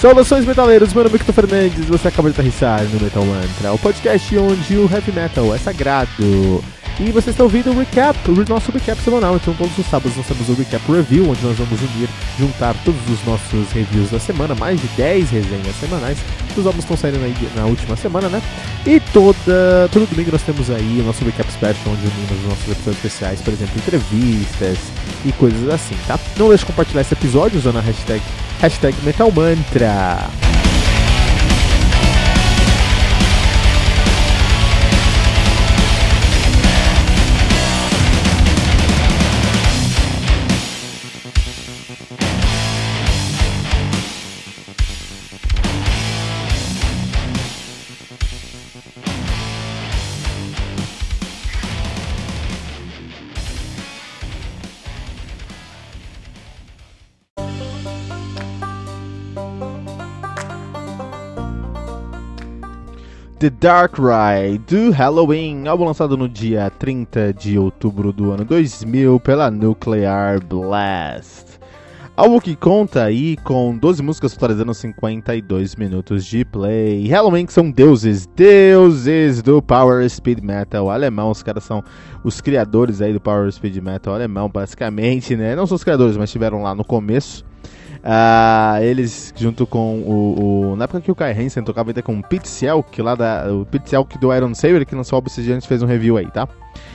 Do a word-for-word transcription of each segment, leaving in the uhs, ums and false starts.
Saudações metaleiros, meu nome é Victor Fernandes e você acaba de aterrissar no Metal Mantra, o podcast onde o heavy metal é sagrado. E você está ouvindo o recap, o nosso recap semanal. Então todos os sábados nós temos o recap review, onde nós vamos unir, juntar todos os nossos reviews da semana, mais de dez resenhas semanais. Os álbuns estão saindo aí na última semana, né? E toda, todo domingo nós temos aí o nosso recap special, onde unimos os nossos episódios especiais, por exemplo, entrevistas e coisas assim, tá? Não deixe de compartilhar esse episódio usando a hashtag, hashtag Metal Mantra. The Dark Ride, do Halloween, álbum lançado no dia trinta de outubro do ano dois mil pela Nuclear Blast. Álbum que conta aí com doze músicas totalizando cinquenta e dois minutos de play. Halloween, que são deuses, deuses do Power Speed Metal alemão. Os caras são os criadores aí do Power Speed Metal alemão, basicamente, né? Não são os criadores, mas estiveram lá no começo. Uh, eles, junto com o, o... Na época que o Kai Hansen tocava ainda com o Pete Selk, lá da... O Pete Selk do Iron Saber, que lançou o álbum esses dias, a gente fez um review aí, tá?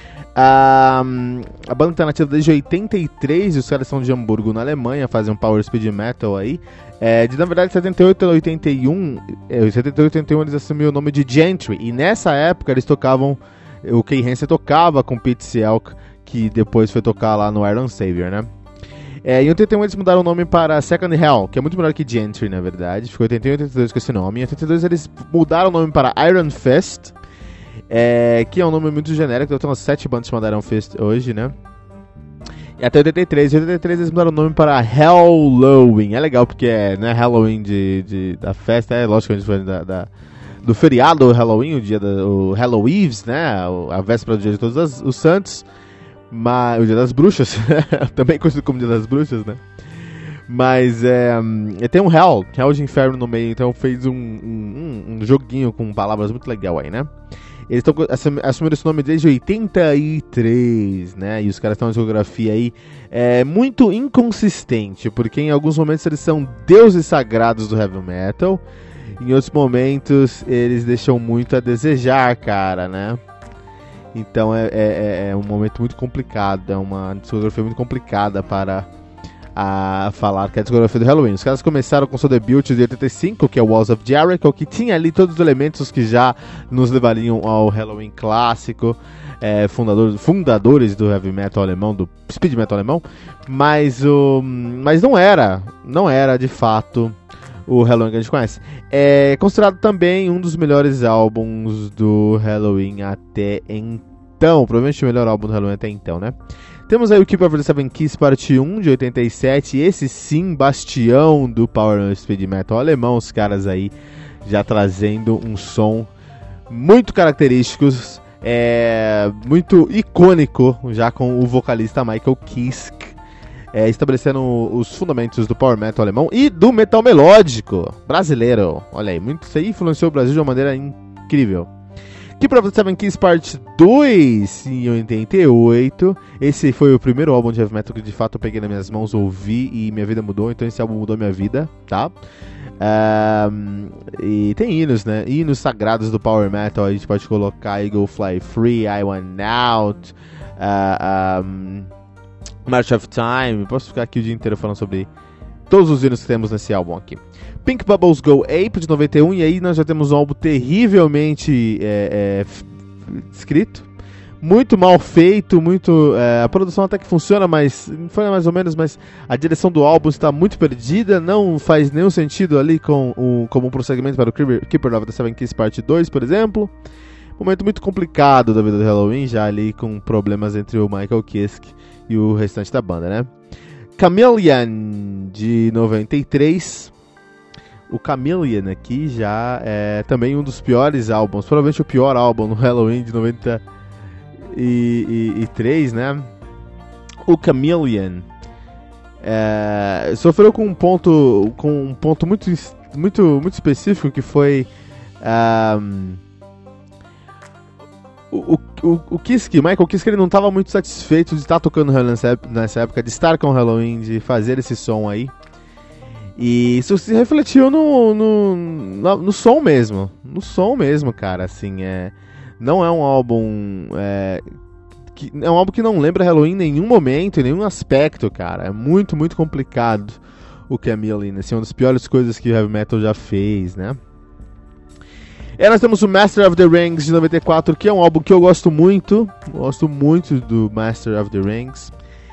Uh, a banda tá nativa desde oitenta e três, e os caras são de Hamburgo, na Alemanha, fazem um Power Speed Metal aí. É, de, na verdade, setenta e oito a oitenta e um, é, setenta e oito a oitenta e um eles assumiram o nome de Gentry, e nessa época eles tocavam... O Kai Hansen tocava com o Pete Selk, que depois foi tocar lá no Iron Savior, né? É, em oitenta e um eles mudaram o nome para Second Hell, que é muito melhor que Gentry, na verdade. Ficou oitenta e um e oitenta e dois com esse nome. Em oitenta e dois eles mudaram o nome para Iron Fist, é, que é um nome muito genérico. Eu tenho umas sete bandas chamadas Iron Fist hoje, né? E até oitenta e três. Em oitenta e três eles mudaram o nome para Halloween. É legal porque é, né, Halloween de, de, da festa, é lógico que a gente foi da, da, do feriado Halloween, o dia da, o Halloween, né? A véspera do dia de todos as, os santos. Mas, o Dia das Bruxas, também conhecido como Dia das Bruxas, né? Mas é, tem um Hell, Hell de Inferno no meio, então fez um, um, um joguinho com palavras muito legal aí, né? Eles estão assumindo esse nome desde oitenta e três, né? E os caras estão em discografia aí é, muito inconsistente, porque em alguns momentos eles são deuses sagrados do heavy metal, em outros momentos eles deixam muito a desejar, cara, né? Então é, é, é um momento muito complicado, é uma discografia muito complicada para a falar que é a discografia do Halloween. Os caras começaram com seu debut de oitenta e cinco, que é o Walls of Jericho, que tinha ali todos os elementos que já nos levariam ao Halloween clássico, é, fundador, fundadores do heavy metal alemão, do speed metal alemão, mas, o, mas não era, não era de fato o Halloween que a gente conhece. É considerado também um dos melhores álbuns do Halloween até então. Provavelmente o melhor álbum do Halloween até então, né? Temos aí o Keep of the Seven Keys parte um de oitenta e sete. Esse sim, bastião do Power Speed Metal alemão. Os caras aí já trazendo um som muito característico, é, muito icônico, já com o vocalista Michael Kiske. É, estabelecendo os fundamentos do power metal alemão e do metal melódico brasileiro. Olha aí, muito, isso aí influenciou o Brasil de uma maneira incrível. Keep of the Seven Keys Part dois em oitenta e oito. Esse foi o primeiro álbum de heavy metal que de fato eu peguei nas minhas mãos, ouvi e minha vida mudou. Então esse álbum mudou minha vida, tá? Um, e tem hinos, né? Hinos sagrados do power metal. A gente pode colocar Eagle Fly Free, I Want Out, uh, um, March of Time. Posso ficar aqui o dia inteiro falando sobre todos os hinos que temos nesse álbum aqui. Pink Bubbles Go Ape, de noventa e um. E aí nós já temos um álbum terrivelmente é, é, escrito, muito mal feito, muito é, a produção até que funciona, mas foi mais ou menos, mas a direção do álbum está muito perdida. Não faz nenhum sentido ali com o, como um prosseguimento para o Keeper of the Seven Keys Part dois, por exemplo. Momento muito complicado da vida do Halloween, já ali com problemas entre o Michael Kiske e o restante da banda, né? Chameleon, de noventa e três. O Chameleon aqui já é também um dos piores álbuns, provavelmente o pior álbum no Halloween de noventa e três, né? O Chameleon é, sofreu com um ponto, com um ponto muito muito, muito específico, que foi um, o, o, o Kiske, Michael Kiske, ele não estava muito satisfeito de estar tocando nessa, nessa época, de estar com o Halloween, de fazer esse som aí. E isso se refletiu no, no, no, no som mesmo, no som mesmo, cara, assim, é, não é um álbum, é, que, é um álbum que não lembra Halloween em nenhum momento, em nenhum aspecto, cara, é muito, muito complicado o que é Millen, assim, uma das piores coisas que o heavy metal já fez, né. E nós temos o Master of the Rings de noventa e quatro, que é um álbum que eu gosto muito, gosto muito do Master of the Rings,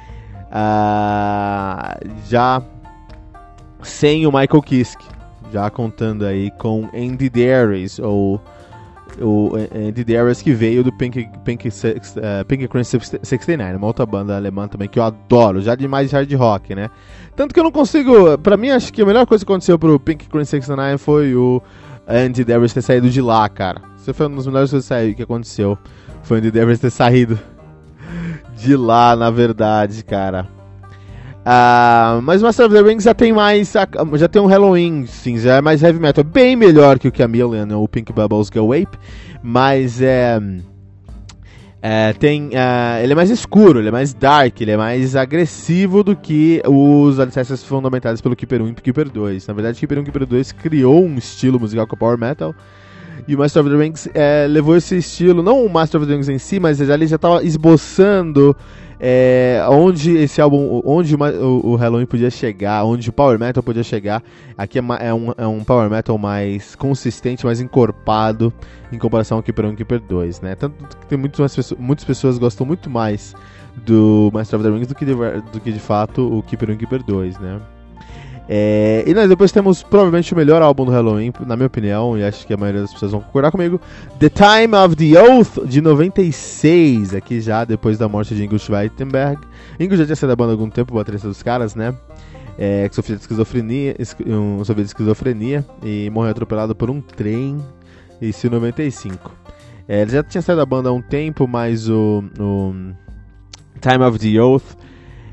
uh, já... sem o Michael Kiske, já contando aí com Andy Darius, ou o Andy Darius, que veio do Pink, Pink, uh, Pink Crimson sessenta e nove, uma outra banda alemã também que eu adoro, já de mais hard rock, né? Tanto que eu não consigo, pra mim acho que a melhor coisa que aconteceu pro Pink Crimson sessenta e nove foi o Andy Darius ter saído de lá, cara. Isso foi uma das melhores coisas que aconteceu, foi o Andy Darius ter saído de lá, na verdade, cara. Uh, mas o Master of the Rings já tem mais, já tem um Halloween, sim, já é mais heavy metal, bem melhor que o Chameleon ou o Pink Bubbles Go Ape, mas é, é tem, uh, ele é mais escuro, ele é mais dark, ele é mais agressivo do que os alicerces fundamentados pelo Keeper um e Keeper dois. Na verdade, Keeper um e Keeper dois criou um estilo musical com o Power Metal, e o Master of the Rings é, levou esse estilo, não o Master of the Rings em si, mas ele já estava esboçando É, onde esse álbum, onde o, o Halloween podia chegar, onde o Power Metal podia chegar. Aqui é, é, um, é um Power Metal mais consistente, mais encorpado em comparação ao Keeper um e Keeper dois, né? Tanto que tem muitas pessoas, muitas pessoas gostam muito mais do Master of the Rings do que de, do que de fato o Keeper um e Keeper dois, né? É, e nós depois temos provavelmente o melhor álbum do Halloween, na minha opinião, e acho que a maioria das pessoas vão concordar comigo, The Time of the Oath, de noventa e seis, aqui já depois da morte de Ingo Schweitenberg. Ingo já tinha saído da banda há algum tempo, o baterista dos caras, né, é, que sofria de esquizofrenia, um, sofria de esquizofrenia e morreu atropelado por um trem, isso em noventa e cinco. É, ele já tinha saído da banda há um tempo, mas o, o Time of the Oath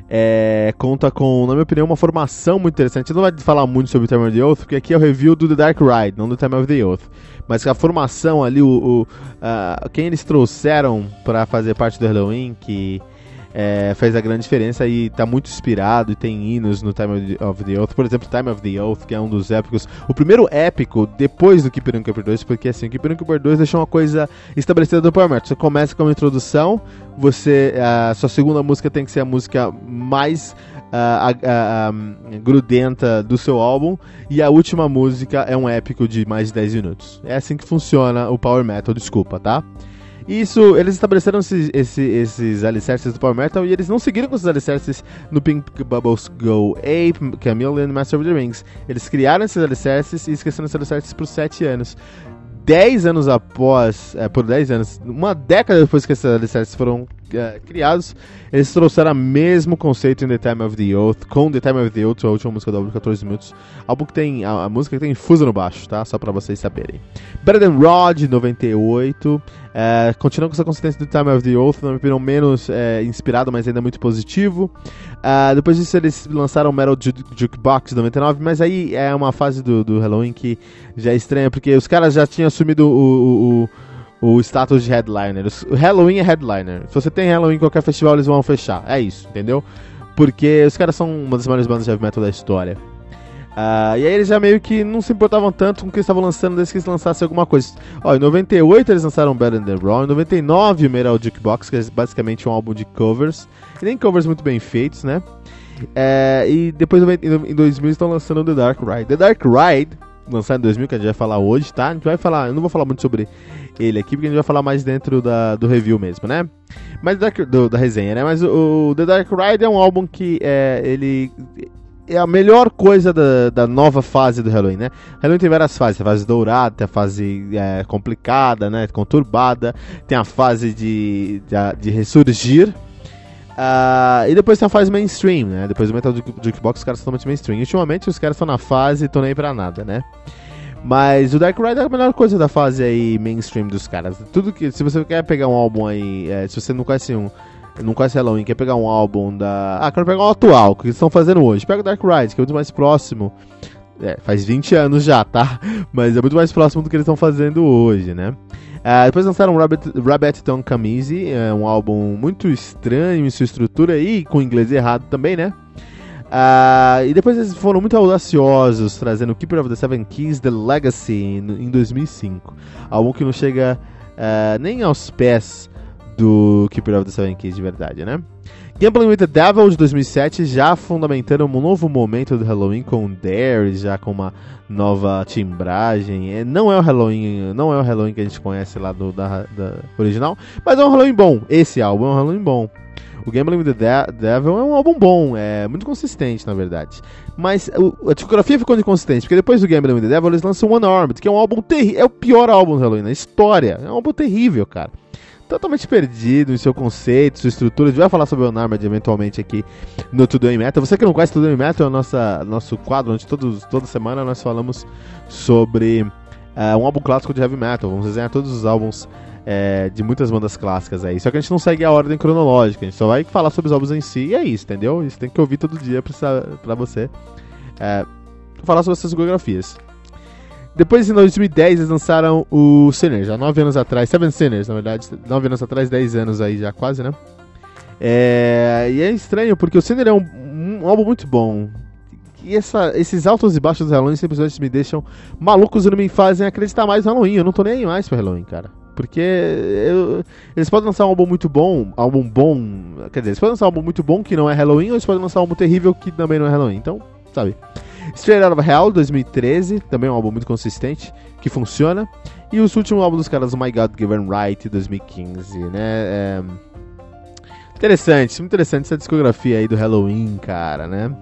É, conta com, na minha opinião, uma formação muito interessante. Eu não vou falar muito sobre o Time of the Oath, porque aqui é o review do The Dark Ride, não do Time of the Oath. Mas a formação ali, o, o, uh, quem eles trouxeram para fazer parte do Halloween, que é, fez a grande diferença e está muito inspirado, e tem hinos no Time of the, of the Oath. Por exemplo, Time of the Oath, que é um dos épicos, o primeiro épico depois do Keeper um e Keeper dois, porque assim, o Keeper um e Keeper dois deixou uma coisa estabelecida do Power Metal. Você começa com uma introdução, você, a sua segunda música tem que ser a música mais uh, uh, uh, grudenta do seu álbum, e a última música é um épico de mais de dez minutos. É assim que funciona o Power Metal, desculpa, tá? Isso, eles estabeleceram esse, esse, esses alicerces do Power Metal, e eles não seguiram com esses alicerces no Pink Bubbles Go Ape, Chameleon e Master of the Rings. Eles criaram esses alicerces e esqueceram esses alicerces por sete anos. dez anos após, é, por dez anos, uma década depois que esses alicerces foram é, criados, eles trouxeram o mesmo conceito em The Time of the Oath, com The Time of the Oath, a última música do álbum de catorze minutos, álbum que tem, a, a música que tem fuso no baixo, tá? Só pra vocês saberem. Better Than Rod, noventa e oito, é, continua com essa consistência do Time of the Oath, na minha opinião menos é, inspirado, mas ainda muito positivo. Uh, depois disso eles lançaram Metal Jukebox, noventa e nove, mas aí é uma fase do, do Halloween que já é estranha, porque os caras já tinham assumido o, o, o, o status de headliner. O Halloween é headliner. Se você tem Halloween em qualquer festival, eles vão fechar. É isso, entendeu? Porque os caras são uma das maiores bandas de heavy metal da história. Uh, e aí eles já meio que não se importavam tanto com o que eles estavam lançando desde que eles lançassem alguma coisa. Ó, em noventa e oito eles lançaram Better Than Raw, em noventa e nove o Metal Jukebox, que é basicamente um álbum de covers, e nem covers muito bem feitos, né? É, e depois em dois mil estão lançando The Dark Ride. The Dark Ride, lançado em dois mil, que a gente vai falar hoje, tá? A gente vai falar, eu não vou falar muito sobre ele aqui, porque a gente vai falar mais dentro da, do review mesmo, né? Mas do, da resenha, né? Mas o, o The Dark Ride é um álbum que é, ele... é a melhor coisa da, da nova fase do Halloween, né? Halloween tem várias fases, tem a fase dourada, tem a fase é, complicada, né? Conturbada, tem a fase de, de, de ressurgir, uh, e depois tem a fase mainstream, né? Depois do Metal Jukebox os caras são totalmente mainstream. E ultimamente os caras estão na fase e estão nem pra nada, né? Mas o Dark Ride é a melhor coisa da fase aí mainstream dos caras. Tudo que, se você quer pegar um álbum aí, é, se você não conhece um não conhece Halloween, quer pegar um álbum da... Ah, quero pegar um atual, que eles estão fazendo hoje. Pega o Dark Ride, que é muito mais próximo É, faz vinte anos já, tá? Mas é muito mais próximo do que eles estão fazendo hoje, né? Uh, depois lançaram Rabbit, Rabbit Don't Come Easy, é um álbum muito estranho em sua estrutura e com inglês errado também, né? Uh, e depois eles foram muito audaciosos, trazendo Keeper of the Seven Keys, The Legacy, em, em dois mil e cinco. Álbum que não chega uh, nem aos pés do Keeper of the Seven Keys de verdade, né? Gambling with the Devil, de dois mil e sete, já fundamentando um novo momento do Halloween com Dare, já com uma nova timbragem. É, não é o Halloween, não é o Halloween que a gente conhece lá do da, da original, mas é um Halloween bom. Esse álbum é um Halloween bom. O Gambling with the De- Devil é um álbum bom, é muito consistente, na verdade. Mas o, a discografia ficou inconsistente, porque depois do Gambling with the Devil eles lançam Unarmed, que é um álbum terrível, é o pior álbum do Halloween na história. É um álbum terrível, cara. Totalmente perdido em seu conceito, sua estrutura. A gente vai falar sobre o Unarmed eventualmente aqui no Tudo em Metal. Você que não conhece Tudo em Metal, é o nossa, nosso quadro onde todos, toda semana nós falamos sobre uh, um álbum clássico de heavy metal. Vamos desenhar todos os álbuns uh, de muitas bandas clássicas aí. Só que a gente não segue a ordem cronológica, a gente só vai falar sobre os álbuns em si e é isso, entendeu? Isso tem que ouvir todo dia pra, pra você uh, falar sobre essas biografias. Depois, em dois mil e dez, eles lançaram o Sinners, já nove anos atrás, Seven Sinners, na verdade, nove anos atrás, dez anos aí já quase, né? É, e é estranho, porque o Sinner é um, um álbum muito bom. E essa, esses altos e baixos do Halloween simplesmente me deixam malucos e não me fazem acreditar mais no Halloween. Eu não tô nem mais pro Halloween, cara. Porque eu, eles podem lançar um álbum muito bom, álbum bom, quer dizer, eles podem lançar um álbum muito bom que não é Halloween, ou eles podem lançar um álbum terrível que também não é Halloween. Então, sabe... Straight Out of Hell, dois mil e treze, também é um álbum muito consistente, que funciona. E o último álbum dos caras, My God Given Right, dois mil e quinze, né? É... Interessante, muito interessante essa discografia aí do Halloween, cara, né?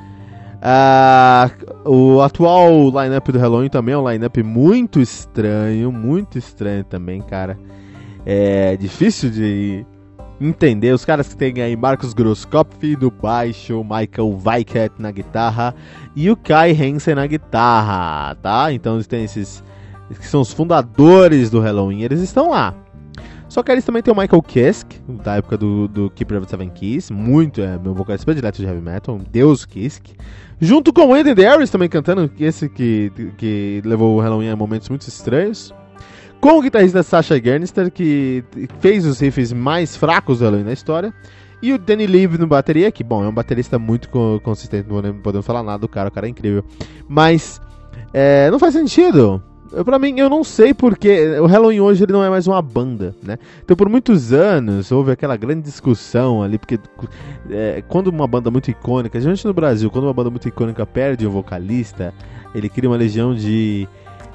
Ah, o atual line-up do Halloween também é um line-up muito estranho, muito estranho também, cara. É difícil de... entender, os caras que tem aí Marcus Grosskopf no baixo, Michael Weickert na guitarra e o Kai Hansen na guitarra, tá? Então eles têm esses que são os fundadores do Halloween, eles estão lá. Só que eles também tem o Michael Kiske, da época do, do Keeper of the Seven Keys, muito, é meu vocalista predileto de heavy metal, um deus Kiske. Junto com o Andy Darius também cantando, esse que, que levou o Halloween a momentos muito estranhos. Com o guitarrista Sasha Gernister, que fez os riffs mais fracos do Halloween na história. E o Danny Lee no bateria, que, bom, é um baterista muito consistente, não podemos falar nada do cara, o cara é incrível. Mas, é, não faz sentido. Eu, pra mim, eu não sei porque o Halloween hoje ele não é mais uma banda, né? Então, por muitos anos, houve aquela grande discussão ali, porque é, quando uma banda muito icônica, geralmente no Brasil, quando uma banda muito icônica perde um vocalista, ele cria uma legião de...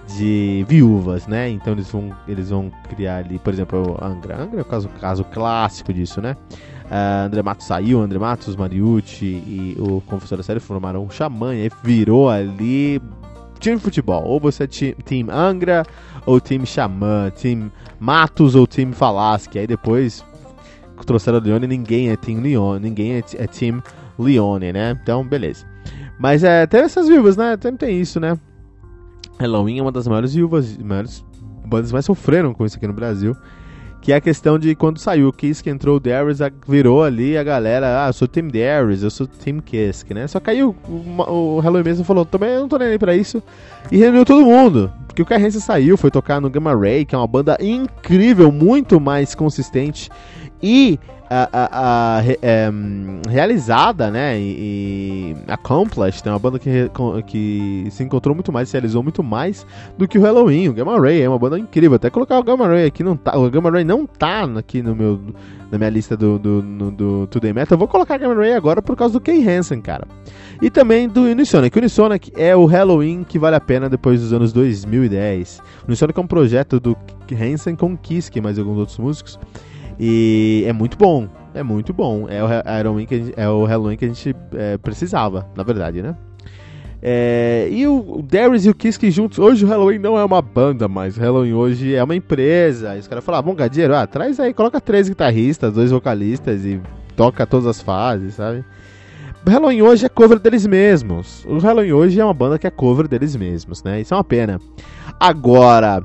de viúvas, né? Então eles vão, eles vão criar ali, por exemplo, o Angra. Angra é o caso, caso clássico disso, né? Uh, André Matos saiu, André Matos, Mariucci e o Confessor da Série formaram um Xamã e aí virou ali time de futebol. Ou você é ti, time Angra, ou time Xamã, time Matos ou time Falaschi. Aí depois trouxeram o Leone, ninguém é time Leone, ninguém é, é time Leone, né? Então, beleza. Mas é, tem essas viúvas, né? Sempre tem isso, né? Halloween é uma das maiores viúvas, maiores bandas mais sofreram com isso aqui no Brasil. Que é a questão de quando saiu o Kiss, que entrou o Darius, virou ali a galera, ah, eu sou Team Darius, eu sou Team Kiss, né? Só que aí o, o, o Halloween mesmo falou, também eu não tô nem aí pra isso, e reuniu todo mundo. Porque o Kai Hansen saiu, foi tocar no Gamma Ray, que é uma banda incrível, muito mais consistente e a, a, a, é, realizada, né, e, e accomplished, é uma banda que, que se encontrou muito mais, se realizou muito mais do que o Halloween. O Gamma Ray é uma banda incrível, até colocar o Gamma Ray aqui, não tá, o Gamma Ray não tá aqui no meu, na minha lista do, do, do, do Today Metal, eu vou colocar o Gamma Ray agora por causa do Kai Hansen, cara. E também do Unisonic. O Unisonic é o Halloween que vale a pena depois dos anos dois mil e dez. O Unisonic é um projeto do Hansen com Kiske, mais alguns outros músicos. E é muito bom, é muito bom. É o Halloween que a gente, é o Halloween que a gente é, precisava, na verdade, né? É, e o, o Darius e o Kiske juntos. Hoje o Halloween não é uma banda mais. O Halloween hoje é uma empresa. E os caras falam, ah, bom, Gadeiro, ah, traz aí, coloca três guitarristas, dois vocalistas e toca todas as fases, sabe? O Halloween hoje é cover deles mesmos. O Halloween hoje é uma banda que é cover deles mesmos, né? Isso é uma pena. Agora,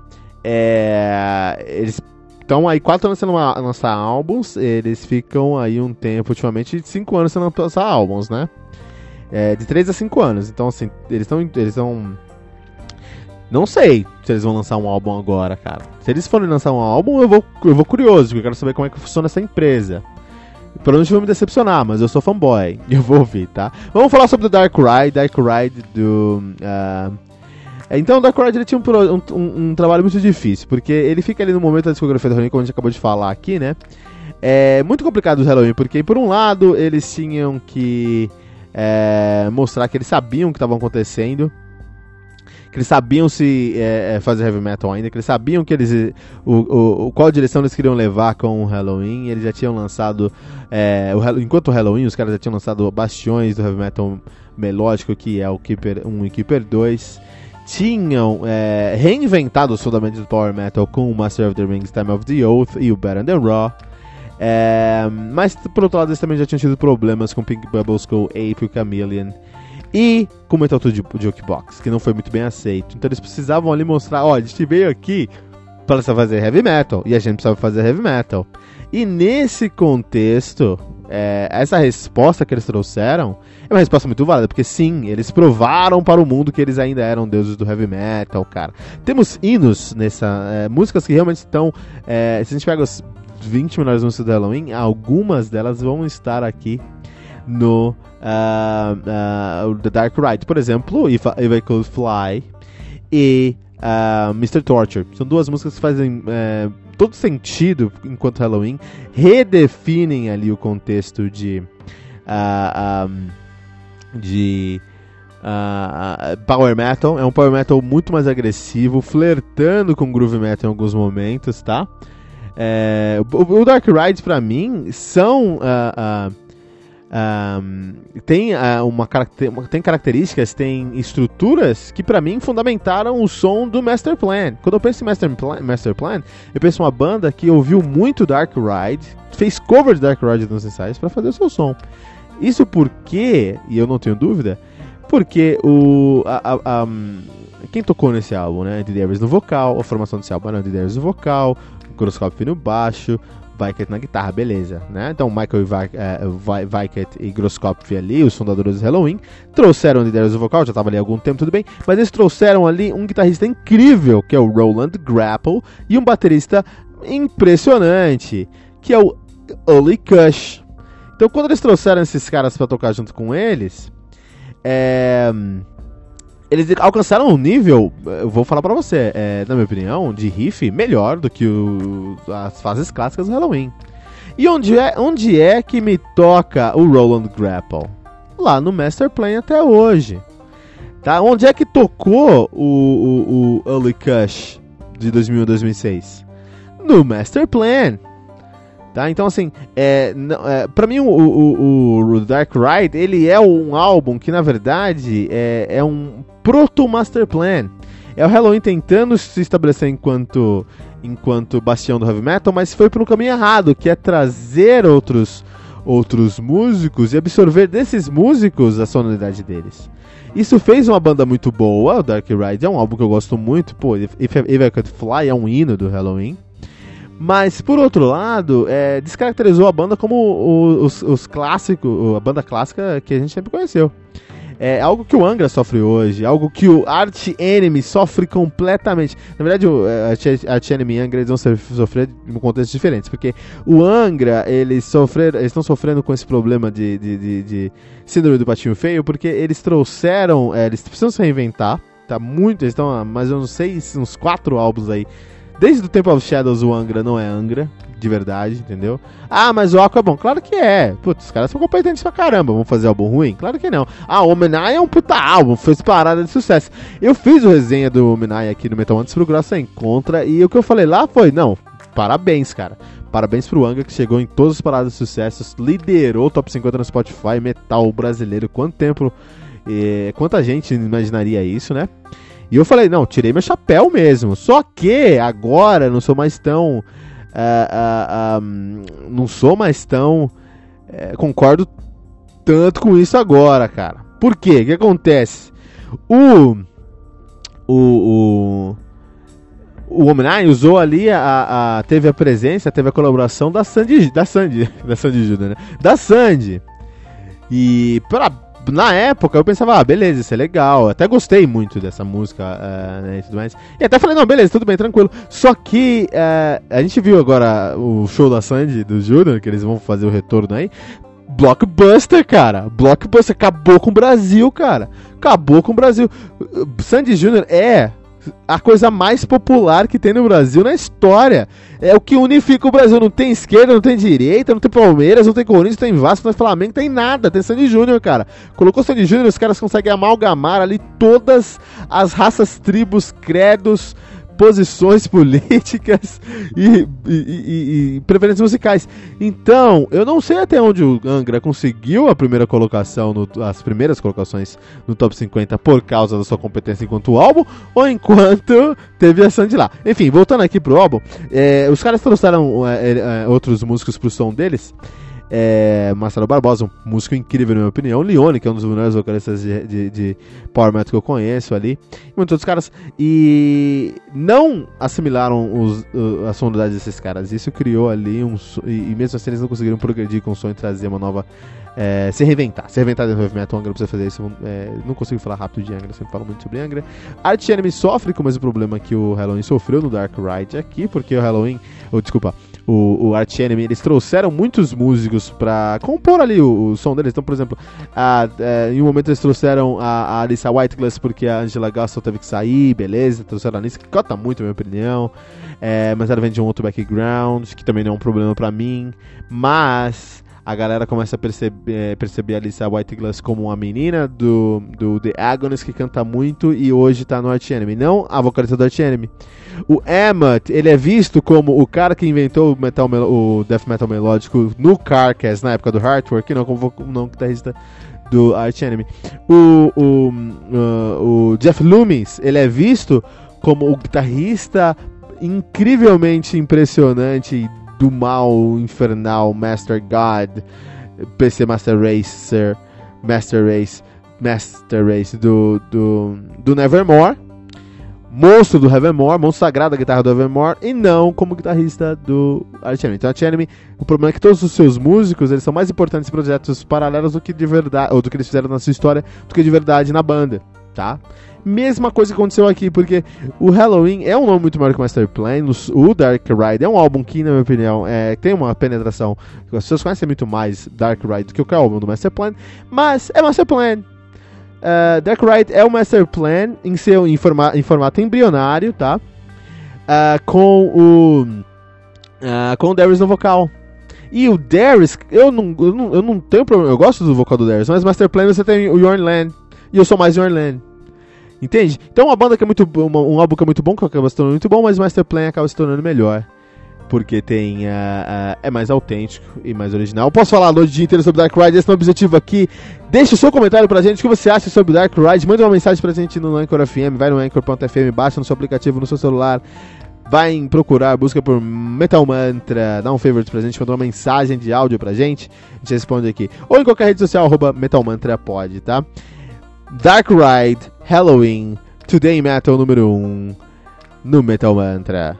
é, eles estão aí quatro anos sem lançar álbuns. Eles ficam aí um tempo, ultimamente, cinco anos sem lançar álbuns, né? é, de três a cinco anos. Então, assim, eles estão... Eles estão... Não sei se eles vão lançar um álbum agora, cara. Se eles forem lançar um álbum, eu vou, eu vou curioso, porque eu quero saber como é que funciona essa empresa. Provavelmente vou me decepcionar, mas eu sou fanboy e eu vou ouvir, tá? Vamos falar sobre o Dark Ride, Dark Ride do... Uh... Então o Dark Ride ele tinha um, um, um trabalho muito difícil, porque ele fica ali no momento da discografia do Halloween, como a gente acabou de falar aqui, né? É muito complicado o Halloween, porque por um lado eles tinham que é, mostrar que eles sabiam o que estava acontecendo, que eles sabiam se é, fazer heavy metal ainda, que eles sabiam que eles o, o, qual direção eles queriam levar com o Halloween. Eles já tinham lançado é, o, enquanto o Halloween, os caras já tinham lançado bastiões do heavy metal melódico, que é o Keeper um e Keeper dois. Tinham é, reinventado os fundamentos do power metal com o Master of the Rings, Time of the Oath e o Bad and the Raw. É, mas por outro lado eles também já tinham tido problemas com Pink Bubbles, com Ape e o Chameleon, e com o Metal two Jukebox, que não foi muito bem aceito. Então eles precisavam ali mostrar, ó, a gente veio aqui para fazer heavy metal, e a gente precisava fazer heavy metal. E nesse contexto, é, essa resposta que eles trouxeram é uma resposta muito válida, porque sim, eles provaram para o mundo que eles ainda eram deuses do heavy metal, cara. Temos hinos nessa, é, músicas que realmente estão, é, se a gente pega os vinte melhores músicas do Halloween, algumas delas vão estar aqui no uh, uh, The Dark Ride. Por exemplo, If I, If I Could Fly e uh, mister Torture. São duas músicas que fazem uh, todo sentido enquanto Halloween, redefinem ali o contexto de uh, um, de uh, power metal. É um power metal muito mais agressivo, flertando com groove metal em alguns momentos, tá? É, o, o Dark Ride pra mim são uh, uh, um, tem, uh, uma caracter, tem características, tem estruturas que pra mim fundamentaram o som do Master Plan. Quando eu penso em Master Plan, Master Plan eu penso em uma banda que ouviu muito Dark Ride, fez cover de Dark Ride nos ensaios pra fazer o seu som. Isso porque, e eu não tenho dúvida, porque o a, a, a, quem tocou nesse álbum, né? Andy Davis no vocal, a formação desse álbum era Andy Davis no vocal, Groskopf no baixo, Weickert na guitarra, beleza, né? Então Michael Weickert e Groskopf ali, os fundadores do Halloween, trouxeram Andy Davis no vocal, já estava ali há algum tempo, tudo bem, mas eles trouxeram ali um guitarrista incrível, que é o Roland Grapple, e um baterista impressionante, que é o Uli Kush. Então quando eles trouxeram esses caras para tocar junto com eles, é... eles alcançaram um nível, eu vou falar pra você, é, na minha opinião, de riff melhor do que o, as fases clássicas do Halloween. E onde é, onde é que me toca o Roland Grapple? Lá no Master Plan até hoje. Tá? Onde é que tocou o, o, o Uli Kush de dois mil a dois mil e seis? No Master Plan. Tá? Então, assim, é, é, pra mim o, o, o Dark Ride, ele é um álbum que, na verdade, é, é um proto-Master Plan. É o Halloween tentando se estabelecer enquanto, enquanto bastião do heavy metal, mas foi pelo caminho errado, que é trazer outros, outros músicos e absorver desses músicos a sonoridade deles. Isso fez uma banda muito boa. O Dark Ride é um álbum que eu gosto muito. Pô, If, If I Could Fly é um hino do Halloween. Mas, por outro lado, é, descaracterizou a banda como o, os, os clássicos, a banda clássica que a gente sempre conheceu. É algo que o Angra sofre hoje, algo que o Arch Enemy sofre completamente. Na verdade, o Arch Enemy e Angra eles vão sofrer em contextos diferentes, porque o Angra, eles sofreram, eles estão sofrendo com esse problema de, de, de, de síndrome do patinho feio, porque eles trouxeram, é, eles precisam se reinventar, tá muito, eles estão há mais ou menos seis, uns quatro álbuns aí. Desde o Temple of Shadows, o Angra não é Angra, de verdade, entendeu? Ah, mas o Aqua é bom. Claro que é. Putz, os caras são competentes pra caramba. Vão fazer álbum ruim? Claro que não. Ah, o Omenai é um puta álbum, fez parada de sucesso. Eu fiz o resenha do Omenai aqui no Metal Antes pro Grossa em Contra, e o que eu falei lá foi, não, parabéns, cara. Parabéns pro Angra, que chegou em todas as paradas de sucesso, liderou o Top cinquenta no Spotify, metal brasileiro. Quanto tempo, eh, quanta gente imaginaria isso, né? E eu falei, não, tirei meu chapéu mesmo. Só que agora não sou mais tão... Uh, uh, um, não sou mais tão... Uh, concordo tanto com isso agora, cara. Por quê? O que acontece? O... O... O... O Omenai usou ali, a, a, teve a presença, teve a colaboração da Sandy... Da Sandy, da Sandy Judah, né? Da Sandy. E pra na época eu pensava, ah, beleza, isso é legal. Até gostei muito dessa música, uh, né, e tudo mais. E até falei, não, beleza, tudo bem, tranquilo. Só que uh, a gente viu agora o show da Sandy, do Júnior, que eles vão fazer o retorno aí. Blockbuster, cara. Blockbuster acabou com o Brasil, cara. Acabou com o Brasil. Sandy Júnior é a coisa mais popular que tem no Brasil na história. É o que unifica o Brasil. Não tem esquerda, não tem direita, não tem Palmeiras, não tem Corinthians, não tem Vasco, não tem Flamengo, não tem nada. Tem Sandy Júnior, cara. Colocou Sandy Júnior, os caras conseguem amalgamar ali todas as raças, tribos, credos, posições políticas e, e, e, e preferências musicais. Então, eu não sei até onde o Angra conseguiu a primeira colocação, no, as primeiras colocações no Top cinquenta por causa da sua competência enquanto álbum, ou enquanto teve a Sandy lá. Enfim, voltando aqui pro álbum, é, os caras trouxeram é, é, outros músicos pro som deles. É, Marcelo Barbosa, um músico incrível na minha opinião, Leone, que é um dos melhores vocalistas de, de, de Power Metal que eu conheço ali, e muitos outros caras, e não assimilaram os, uh, a sonoridade desses caras. Isso criou ali um, e, e mesmo assim eles não conseguiram progredir com o som e trazer uma nova, é, se reinventar, se reinventar dentro do heavy metal. Angra precisa fazer isso. É, não consigo falar rápido de Angra, sempre falo muito sobre Angra. Arch Enemy sofre com o mesmo problema que o Halloween sofreu no Dark Ride aqui, porque o Halloween, ou oh, desculpa, o, o Arch Enemy, eles trouxeram muitos músicos pra compor ali o, o som deles. Então, por exemplo, a, a, em um momento eles trouxeram a, a Alissa Whiteglass porque a Angela Gaston teve que sair, beleza, trouxeram a Alissa, que cota muito, na minha opinião, é, mas ela vem de um outro background, que também não é um problema pra mim, mas a galera começa a perceber, perceber a Alissa Whiteglass como uma menina do, do The Agonist, que canta muito e hoje tá no Arch Enemy, não a vocalista do Arch Enemy. O Emmett, ele é visto como o cara que inventou o, metal, o death metal melódico no Carcass, na época do Heartwork, não como não guitarrista do Arch Enemy. O, o, uh, o Jeff Loomis, ele é visto como o guitarrista incrivelmente impressionante do mal infernal Master God, P C Master Racer, Master Race, Master Race do, do, do Nevermore. Monstro do Evermore, monstro sagrado da guitarra do Evermore, e não como guitarrista do Arch Enemy. Então, Arch Enemy, o problema é que todos os seus músicos, eles são mais importantes em projetos paralelos do que de verdade, ou do que eles fizeram na sua história, do que de verdade na banda, tá? Mesma coisa que aconteceu aqui, porque o Halloween é um nome muito maior que o Master Plan, o Dark Ride é um álbum que, na minha opinião, é, tem uma penetração, as pessoas conhecem muito mais Dark Ride do que o álbum do Master Plan, mas é Master Plan. Uh, Dark Ride é o Master Plan em, seu, em, forma, em formato embrionário, tá? Uh, com o uh, com o Darius no vocal. E o Darius, eu não, eu, não, eu não tenho problema, eu gosto do vocal do Darius, mas Master Plan você tem o Jorn Land, e eu sou mais Jorn Land. Entende? Então uma banda que é muito uma, um álbum que é muito bom, que acaba se tornando muito bom, mas Master Plan acaba se tornando melhor. Porque tem, uh, uh, é mais autêntico e mais original. Eu posso falar a noite dia inteiro sobre Dark Ride, esse é o objetivo aqui. Deixe o seu comentário pra gente, o que você acha sobre Dark Ride. Manda uma mensagem pra gente no Anchor F M, vai no Anchor ponto F M, baixa no seu aplicativo, no seu celular. Vai em procurar, busca por Metal Mantra, dá um favorite pra gente, manda uma mensagem de áudio pra gente, a gente responde aqui. Ou em qualquer rede social, arroba Metal Mantra pode, tá? Dark Ride, Halloween, Today Metal número um, no Metal Mantra.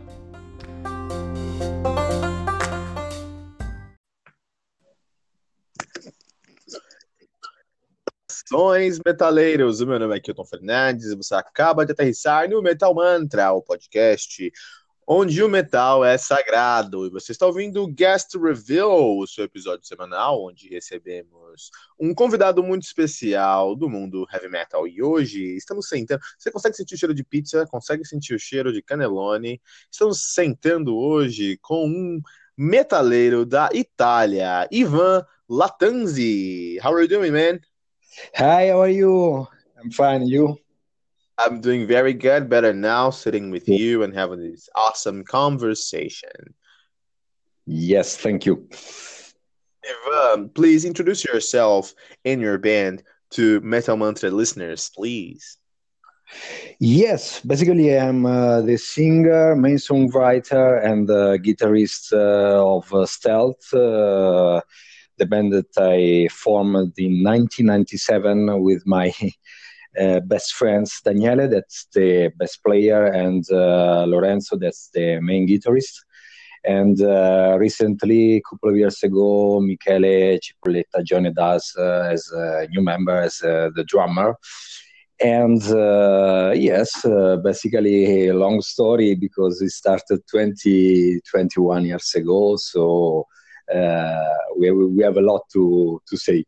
Saudações, metaleiros! O meu nome é Kilton Fernandes e você acaba de aterrissar no Metal Mantra, o podcast onde o metal é sagrado. E você está ouvindo o Guest Reveal, o seu episódio semanal, onde recebemos um convidado muito especial do mundo heavy metal. E hoje estamos sentando... Você consegue sentir o cheiro de pizza? Consegue sentir o cheiro de cannelloni? Estamos sentando hoje com um metaleiro da Itália, Ivan Lattanzi. How are you doing, man? Hi, how are you? I'm fine, you? I'm doing very good, better now, sitting with you and having this awesome conversation. Yes, thank you. Ivan, please introduce yourself and your band to Metal Mantra listeners, please. Yes, basically I'm uh, the singer, main songwriter, and uh, guitarist uh, of uh, Stealth, uh, the band that I formed in nineteen ninety-seven with my uh, best friends, Daniele, that's the bass player, and uh, Lorenzo, that's the main guitarist. And uh, recently, a couple of years ago, Michele Cipolletta joined us uh, as a new member, as uh, the drummer. And uh, yes, uh, basically a long story because it started twenty, twenty-one years ago. So uh, we, we have a lot to, to say.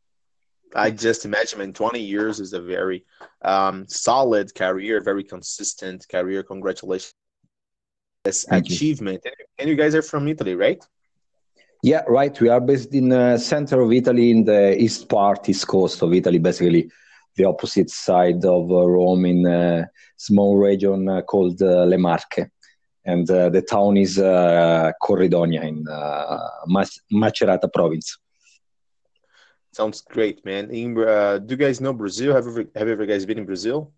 I just imagine, man, twenty years is a very um, solid career, very consistent career. Congratulations. This Thank you. achievement. And- And you guys are from Italy, right? Yeah, right. We are based in the center of Italy, in the east part, east coast of Italy, basically the opposite side of uh, Rome, in a small region uh, called uh, Le Marche. And uh, the town is uh, Corridonia in uh, Mas- Macerata province. Sounds great, man. In, uh, do you guys know Brazil? Have you ever, have you ever guys been in Brazil?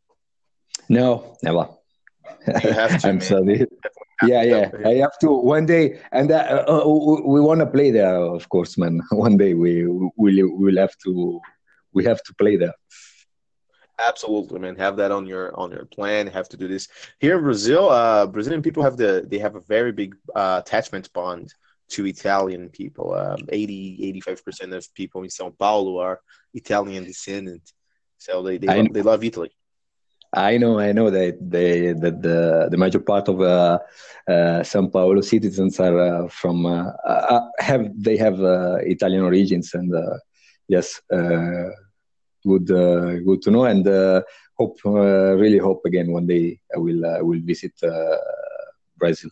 No, never. You have to, I'm man. sorry. Yeah, yeah. I have to one day, and uh, uh, we want to play there, of course, man. One day we will will have to we have to play there. Absolutely, man. Have that on your on your plan. Have to do this here in Brazil. Uh, Brazilian people have the they have a very big uh, attachment bond to Italian people. Um, eighty, eighty-five percent of people in São Paulo are Italian descendant, so they they, I lo- know, they love Italy. I know, I know that they that the the major part of uh, uh, São Paulo citizens are uh, from uh, uh, have they have uh, Italian origins, and uh, yes, uh, good uh, good to know, and uh, hope uh, really hope again one day I will uh, will visit uh, Brazil.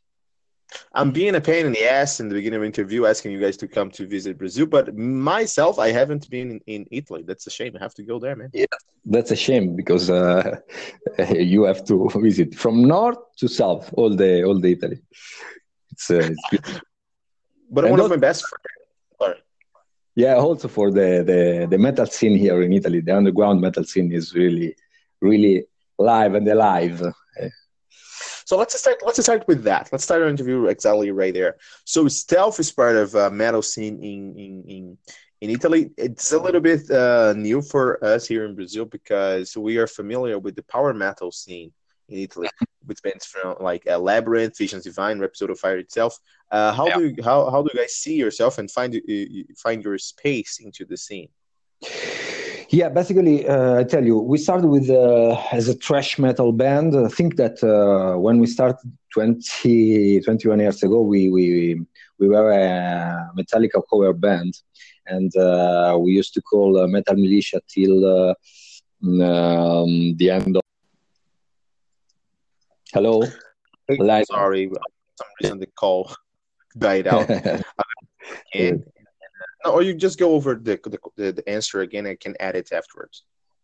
I'm being a pain in the ass in the beginning of the interview, asking you guys to come to visit Brazil, but myself, I haven't been in, in Italy. That's a shame. I have to go there, man. Yeah, that's a shame because uh, you have to visit from north to south all the all the Italy. It's uh, it's beautiful. But And one of also, my best friends, sorry. yeah, also for the, the the metal scene here in Italy, the underground metal scene is really really live and alive. So let's start. Let's start with that. Let's start our interview exactly right there. So stealth is part of uh, metal scene in in in in Italy. It's a little bit uh, new for us here in Brazil because we are familiar with the power metal scene in Italy, which bands from like uh, Labyrinth, Visions Divine, Rhapsody of Fire itself. Uh, how Yeah. do you, how how do you guys see yourself and find uh, find your space into the scene? Yeah, basically, uh, I tell you, we started with uh, as a thrash metal band. I think that uh, when we started twenty, twenty-one years ago, we we we were a Metallica cover band, and uh, we used to call uh, Metal Militia till uh, um, the end of. Hello, line. Sorry, for some reason the call died out. And no, or you just go over the, the the answer again. I can add it afterwards.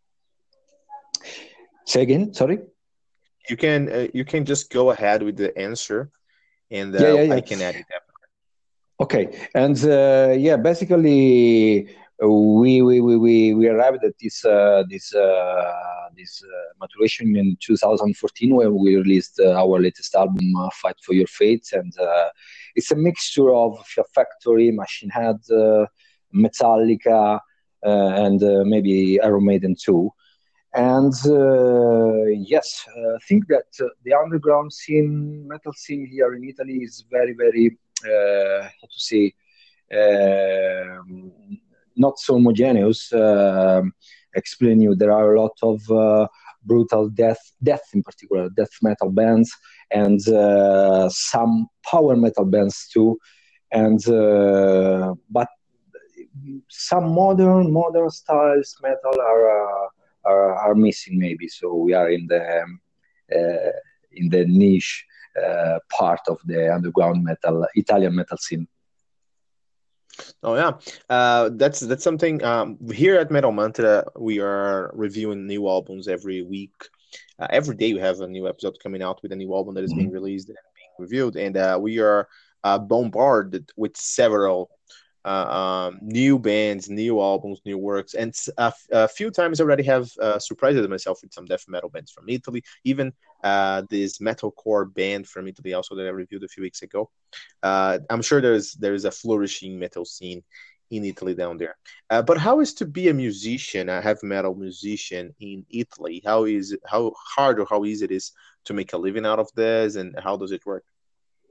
Say again. Sorry. You can uh, you can just go ahead with the answer, and uh, Yeah, yeah, yeah. I can add it afterwards. Okay, and uh, yeah, basically uh, we we we we we arrived at this uh, this uh, this uh, maturation in two thousand fourteen when we released uh, our latest album, uh, "Fight for Your Fate," and uh, it's a mixture of Fear Factory, Machine Head, uh, Metallica, uh, and uh, maybe Iron Maiden too. And uh, yes, uh, I think that uh, the underground scene, metal scene here in Italy is very, very, uh, how to say, um not so homogeneous. Um explain you, there are a lot of uh, brutal death, death in particular, death metal bands, and uh, some power metal bands too. And uh, but some modern modern styles metal are. Uh, are, are missing maybe. So we are in the um, uh, in the niche uh, part of the underground metal, Italian metal scene. Oh yeah, uh, that's that's something. Um, here at Metal Mantra, we are reviewing new albums every week. Uh, every day we have a new episode coming out with a new album that is being Mhm. released and being reviewed, and uh, we are uh, bombarded with several uh, um, new bands, new albums, new works, and s- a, f- a few times already have uh, surprised myself with some death metal bands from Italy, even uh, this metalcore band from Italy also that I reviewed a few weeks ago. Uh, I'm sure there's there's a flourishing metal scene in Italy down there. Uh, but how is to be a musician, a heavy metal musician in Italy? How is it, how hard or how easy it is to make a living out of this, and how does it work?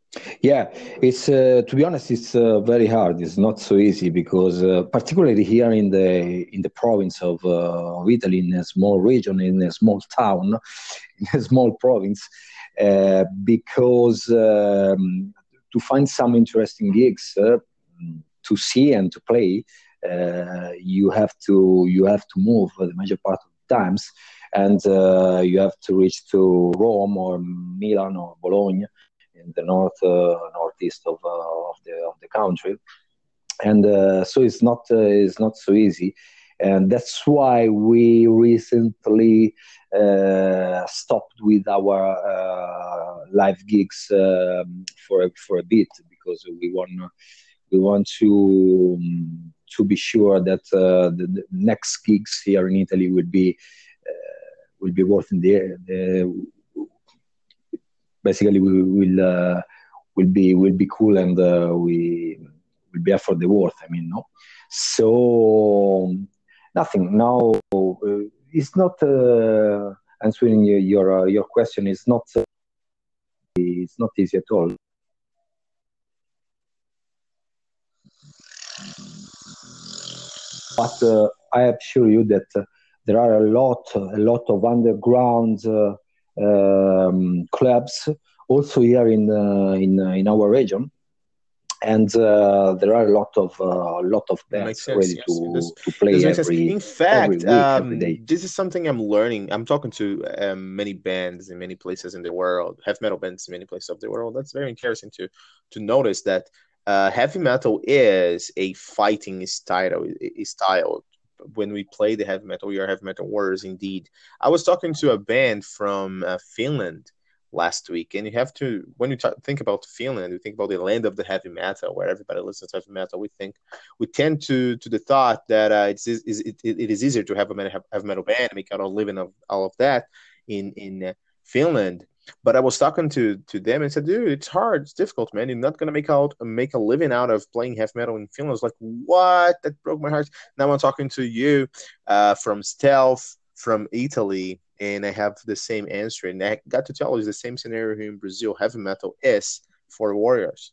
Yeah, it's uh, to be honest, it's uh, very hard. It's not so easy because, uh, particularly here in the in the province of, uh, of Italy, in a small region, in a small town, in a small province, uh, because um, to find some interesting gigs uh, to see and to play, uh, you have to you have to move the major part of the times, and uh, you have to reach to Rome or Milan or Bologna in the north uh, northeast of, uh, of the of the country, and uh, so it's not uh, it's not so easy, and that's why we recently uh, stopped with our uh, live gigs um, for a, for a bit because we want we want to um, to be sure that uh, the, the next gigs here in Italy will be uh, will be worth in the, the basically we will uh, will be will be cool and uh, we will be for the worth. I mean, no. So nothing now. Uh, it's not uh, answering your your, uh, your question. It's not. Uh, it's not easy at all. But uh, I assure you that uh, there are a lot, a lot of underground uh, um, clubs also here in uh, in uh, in our region, and uh, there are a lot of uh, a lot of Makes bands sense. ready Yes, this to to this play makes sense. every In every fact, week, every um, day. this is something I'm learning. I'm talking to um, many bands in many places in the world, heavy metal bands in many places of the world. That's very interesting to to notice that uh, heavy metal is a fighting style. Style. When we play the heavy metal, we are heavy metal warriors indeed. I was talking to a band from uh, Finland last week, and you have to when you ta think about Finland, you think about the land of the heavy metal, where everybody listens to heavy metal. We think we tend to to the thought that uh, it's is it, it is easier to have a metal, have a metal band, make out a living of all of that in in uh, Finland. But I was talking to to them and said, dude, it's hard, it's difficult, man. You're not gonna make out make a living out of playing heavy metal in Finland. I was like, what? That broke my heart. Now I'm talking to you uh, from Stealth from Italy, and I have the same answer. And I got to tell you, it's the same scenario here in Brazil. Heavy metal is for warriors.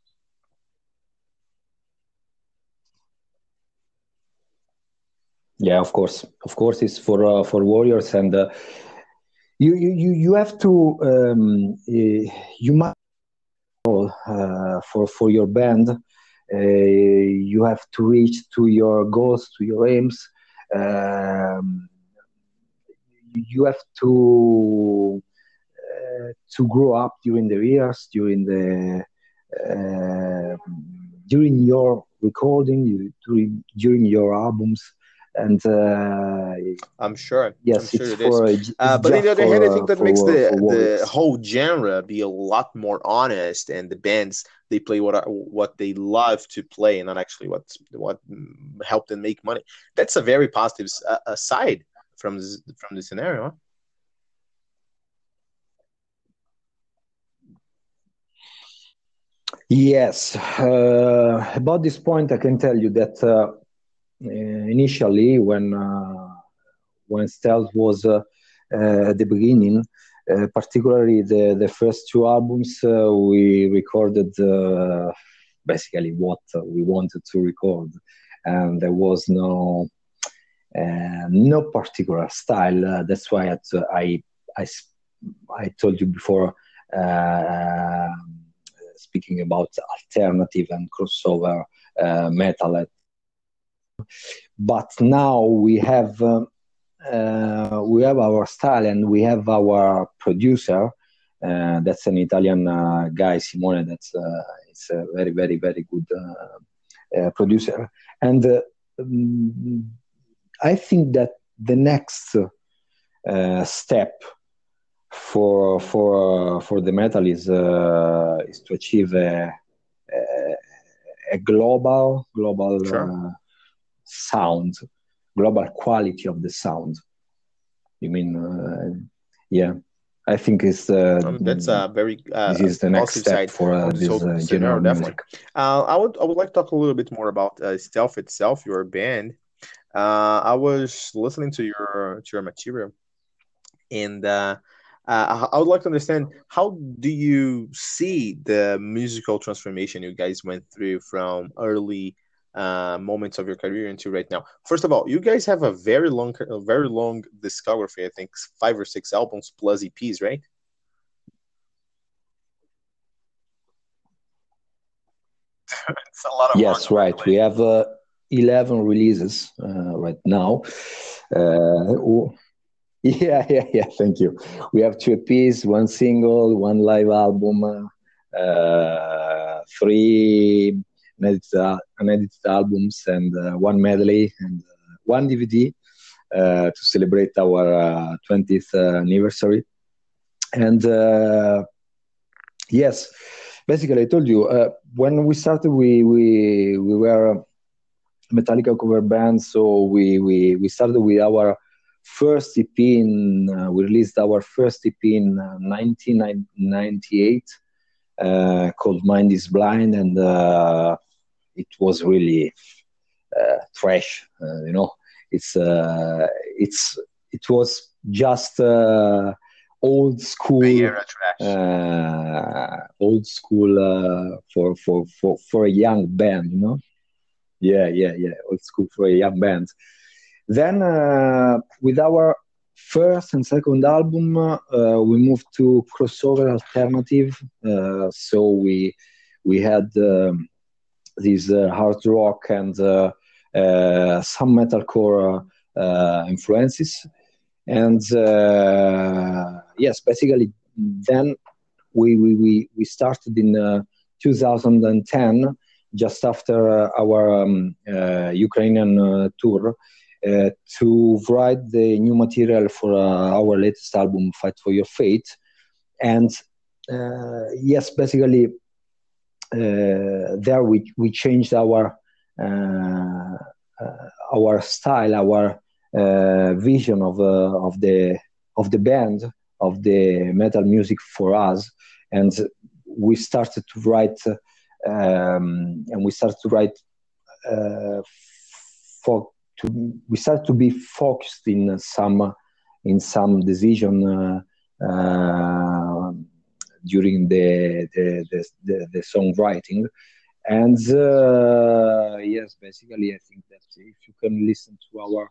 Yeah, of course, of course, it's for uh, for warriors, and uh, you, you you you have to um, uh, you must uh, for for your band. Uh, you have to reach to your goals, to your aims. Um, you have to uh, to grow up during the years, during the uh, during your recording, during during your albums, and uh, I'm sure. I'm yes, sure it's it is. for Uh, it's but on the just other hand, I for uh, think that makes for the for the warriors. whole genre be a lot more honest, and the bands they play what are, what they love to play, and not actually what what help them make money. That's a very positive uh, aside from this, from the scenario. Huh? Yes, uh, about this point, I can tell you that uh, initially, when uh, when Stealth was uh, uh, at the beginning, uh, particularly the the first two albums, uh, we recorded uh, basically what we wanted to record, and there was no uh, no particular style. Uh, that's why I, I I I told you before. Uh, speaking about alternative and crossover uh, metal. But now we have um, uh, we have our style and we have our producer. Uh, that's an Italian uh, guy, Simone. That's uh, it's a very very very good uh, uh, producer. And uh, um, I think that the next uh, step for for uh, for the metal is uh, is to achieve a, a, a global global Sure. uh, sound, global quality of the sound. You mean, uh, yeah? I think it's uh, Um, that's a very this uh, is the next positive step side for uh, of this this whole uh, genre scenario, of definitely. music. Uh, I would I would like to talk a little bit more about uh, Stealth itself, your band. Uh, I was listening to your to your material, and uh, Uh, I I would like to understand, how do you see the musical transformation you guys went through from early uh, moments of your career into right now? First of all, you guys have a very long, a very long discography. I think five or six albums plus E Ps, right? It's a lot of work. Yes, right. We have uh, eleven releases uh, right now. Uh, Yeah, yeah, yeah. Thank you. We have two E Ps, one single, one live album, uh, three unedited, al- unedited albums, and uh, one medley, and uh, one D V D uh, to celebrate our uh, twentieth uh, anniversary. And uh, yes, basically, I told you uh, when we started, we we we were a Metallica cover band, so we we we started with our first E P in uh, we released our first E P in uh, nineteen ninety-eight uh, called Mind is Blind, and uh, it was really uh, trash. Uh, you know, it's uh, it's it was just uh, old Bay school, Era trash. uh, old school uh, for for for for a young band. You know, yeah, yeah, yeah, old school for a young band. Then, uh, with our first and second album, uh, we moved to crossover alternative. Uh, so we we had um, this uh, hard rock and uh, uh, some metalcore uh, influences. And uh, yes, basically, then we we we, we started in uh, two thousand ten, just after uh, our um, uh, Ukrainian uh, tour, uh, to write the new material for uh, our latest album, Fight for Your Fate. And uh, yes, basically, uh, there we we changed our uh, uh, our style, our uh, vision of uh, of the of the band, of the metal music for us, and we started to write, uh, um, and we started to write uh, for to we started to be focused in some in some decision uh, uh, during the the, the the the songwriting. And uh, yes, basically, I think that if you can listen to our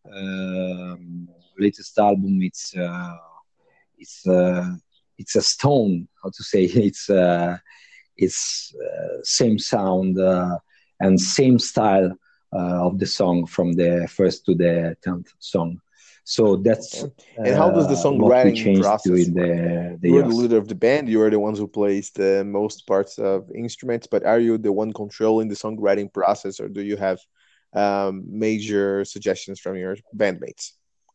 um, latest album, it's uh, it's uh, it's a stone. How to say? It's uh, it's uh, same sound uh, and same style uh, of the song from the first to the tenth song. So that's Okay. And how does the uh, what we songwriting changed process during work? the the You are the years. leader of the band. You are the ones who plays the most parts of instruments, but are you the one controlling the songwriting process, or do you have um, major suggestions from your bandmates?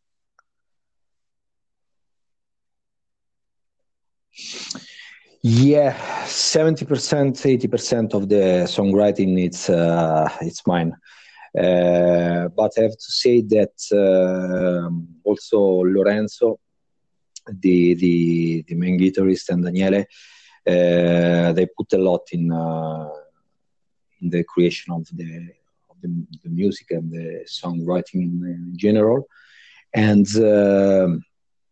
Yeah, seventy percent, eighty percent of the songwriting it's uh, it's mine. Uh, but I have to say that um also Lorenzo, the the the main guitarist, and Daniele, uh, they put a lot in uh, in the creation of the of the, the music and the songwriting in, in general. And um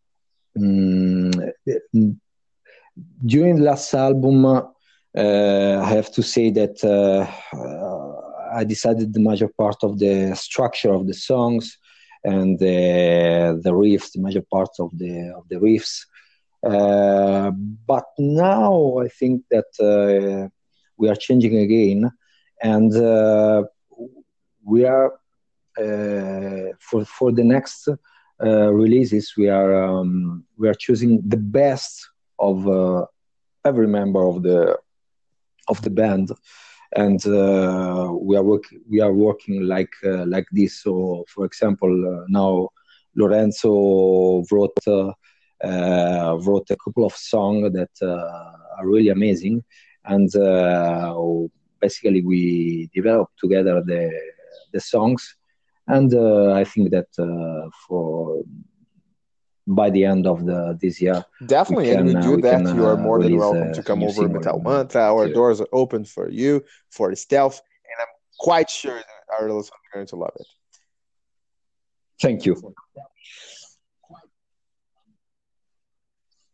mm, during the last album, uh, I have to say that uh, uh, I decided the major part of the structure of the songs and the the riffs, the major part of the of the riffs. Uh, but now I think that uh, we are changing again, and uh, we are uh, for for the next uh, releases. We are um, we are choosing the best of uh, every member of the of the band, and uh, we are work we are working like uh, like this. So, for example, uh, now Lorenzo wrote uh, uh, wrote a couple of songs that uh, are really amazing, and uh, basically we developed together the the songs, and uh, I think that uh, for by the end of the this year we Definitely, and we can uh, do we can that. You are uh, more than release welcome a, to a come new over single Metal in uh, Mantra. Our material. doors are open for you, for Stealth, and I'm quite sure that our listeners are going to love it. Thank you.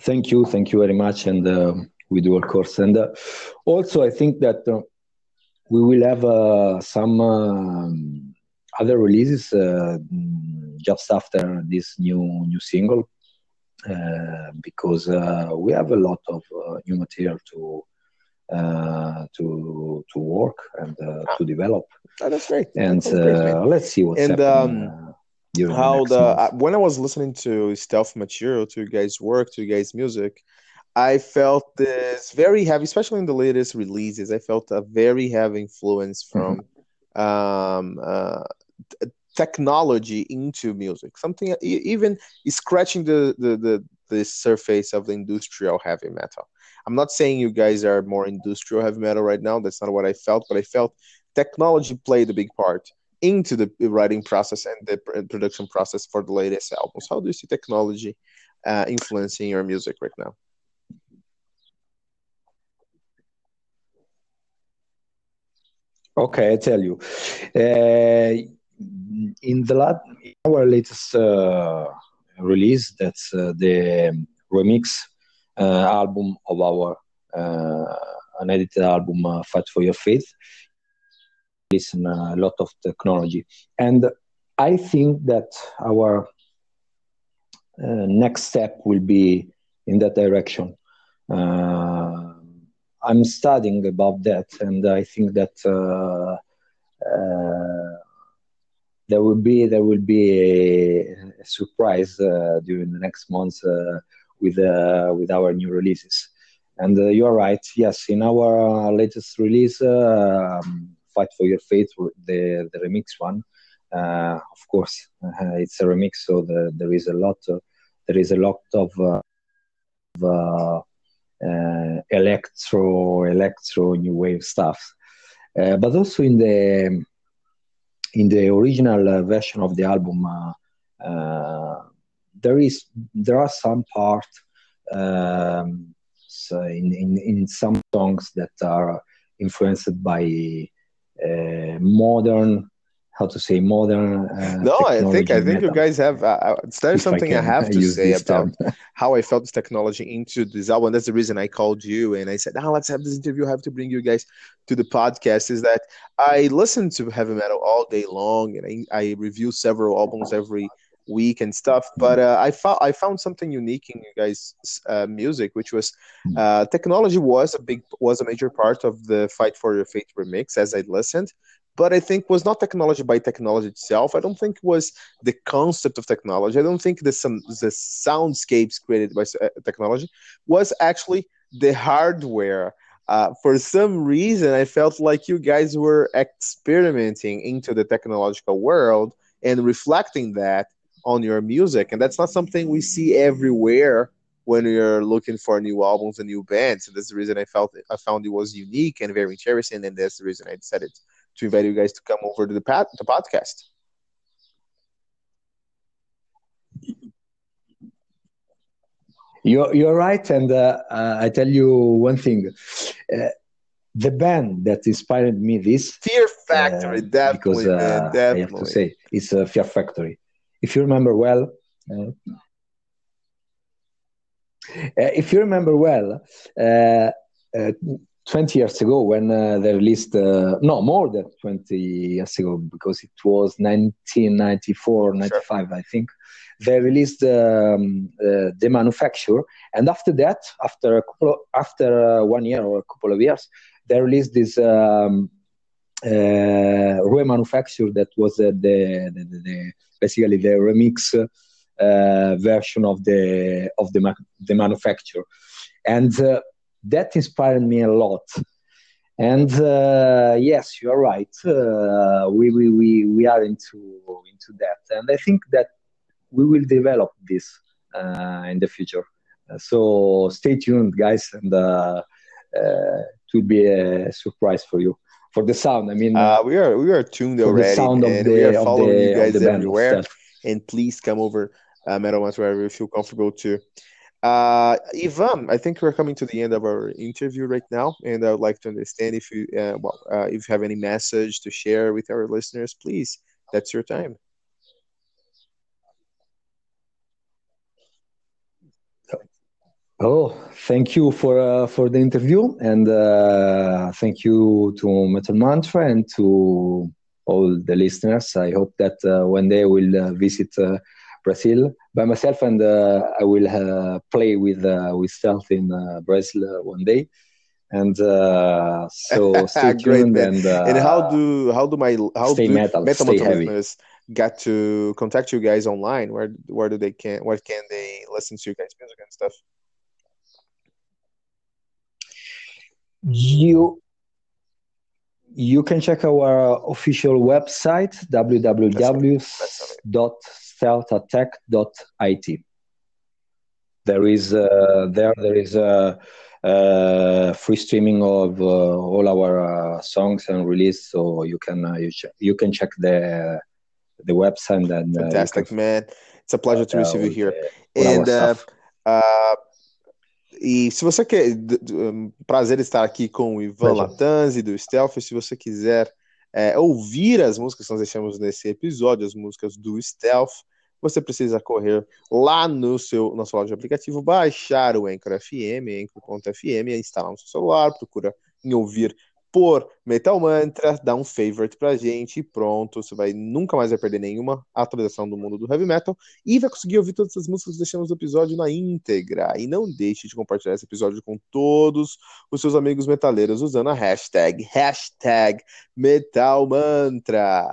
Thank you, thank you very much, and uh, we do, of course. And uh, also, I think that uh, we will have uh, some um, other releases uh, mm, just after this new new single, uh, because uh, we have a lot of uh, new material to uh, to to work and uh, Ah, to develop. ah, that's great. That And sounds great, man. uh, let's see what's And happening um, uh, during the how the next month. uh, when I was listening to Stealth Material, to you guys' work, to you guys' music, I felt this very heavy, especially in the latest releases. I felt a very heavy influence Mhm. from um, uh, technology into music. Something e- even scratching the, the the the surface of the industrial heavy metal. I'm not saying you guys are more industrial heavy metal right now. That's not what I felt, but I felt technology played a big part into the writing process and the pr- production process for the latest albums. How do you see technology uh, influencing your music right now? Okay, I tell you. Uh, in the lat- in our latest uh, release, that's uh, the remix uh, album of our uh, unedited album, uh, "Fight for Your Faith." Listen, a lot of technology, and I think that our uh, next step will be in that direction. Uh, I'm studying about that, and I think that. Uh, uh, there will be there will be a, a surprise uh, during the next months uh, with uh, with our new releases. And uh, you are right. Yes, in our uh, latest release, uh, um, "Fight for Your Faith," the the remix one. Uh, of course, uh, it's a remix, so the, there is a lot. Of, there is a lot of uh, uh, electro electro new wave stuff. Uh, but also in the in the original uh, version of the album, uh, uh, there is there are some part um, so in, in in some songs that are influenced by uh, modern, how to say, modern uh, No, I think technology I in think you metal, guys have. Uh, uh, there's if I something I can have to use say this term. about how I felt this technology into this album. That's the reason I called you and I said, "Ah, let's have this interview. I have to bring you guys to the podcast." Is that I listen to heavy metal all day long and I, I review several albums every week and stuff. But uh, I found I found something unique in you guys' uh, music, which was uh, technology was a big was a major part of the Fight for Your Faith remix as I listened, but I think was not technology by technology itself. I don't think it was the concept of technology. I don't think the some the soundscapes created by uh, technology was actually the hardware. Uh, for some reason, I felt like you guys were experimenting into the technological world and reflecting that on your music, and that's not something we see everywhere when you're looking for new albums and new bands. And that's the reason I felt I found it was unique and very interesting, and that's the reason I decided to invite you guys to come over to the, pod, the podcast. You're you're right, and uh, uh, I tell you one thing. Uh, the band that inspired me this, Fear uh, Factory, because definitely, man, uh, I have to definitely. say, it's uh, Fear Factory. If you remember well, uh, uh, if you remember well, uh, uh, twenty years ago when uh, they released, uh, no, more than twenty years ago, because it was nineteen ninety-four, Sure. ninety-five, I think, they released um, uh, the manufacture. And after that, after a couple of, after uh, one year or a couple of years, they released this um, uh, remanufacture that was uh, the, the, the, the basically the remix uh, version of the of the ma- the manufacture, and uh, that inspired me a lot. And uh, yes, you are right. Uh, we, we we we are into into that, and I think that we will develop this uh, in the future. Uh, so stay tuned, guys, and uh, uh, it will be a surprise for you for the sound. I mean, uh, Uh, we are we are tuned for the already, sound of man. We are the of following you the of the guys band of everywhere, Stealth. and please come over uh, Metal Ones wherever you feel comfortable to. Uh, Ivan, I think we're coming to the end of our interview right now, and I would like to understand if you, uh, well, uh, if you have any message to share with our listeners, please. That's your time. Oh, thank you for uh, for the interview, and uh, thank you to Metal Mantra and to all the listeners. I hope that uh, one day I will uh, visit uh, Brazil by myself, and uh, I will uh, play with uh, with Stealth in uh, Brazil uh, one day. And uh, so stay Great, tuned. man. And, uh, and how do how do my how stay do metal, metal stay Mantra heavy. listeners get to contact you guys online? Where where do they can where can they listen to you guys' music and stuff? You you can check our official website w w w dot stealth attack dot i t. There is uh, there there is a uh, uh, free streaming of uh, all our uh, songs and release, so you can uh, you, ch- you can check the the website and uh, Fantastic, can, man. It's a pleasure to receive you here. The, and uh, uh, e se você quer, um, prazer estar aqui com o Ivan Latanzi do Stealth. Se você quiser é, ouvir as músicas que nós deixamos nesse episódio, as músicas do Stealth, você precisa correr lá no seu, na sua loja de aplicativo, baixar o Anchor F M, Anchor ponto F M, instalar no seu celular, procura em ouvir por Metal Mantra, dá um favorite pra gente e pronto, você vai nunca mais vai perder nenhuma atualização do mundo do heavy metal e vai conseguir ouvir todas as músicas que deixamos no episódio na íntegra. E não deixe de compartilhar esse episódio com todos os seus amigos metaleiros usando a hashtag, hashtag Metal Mantra.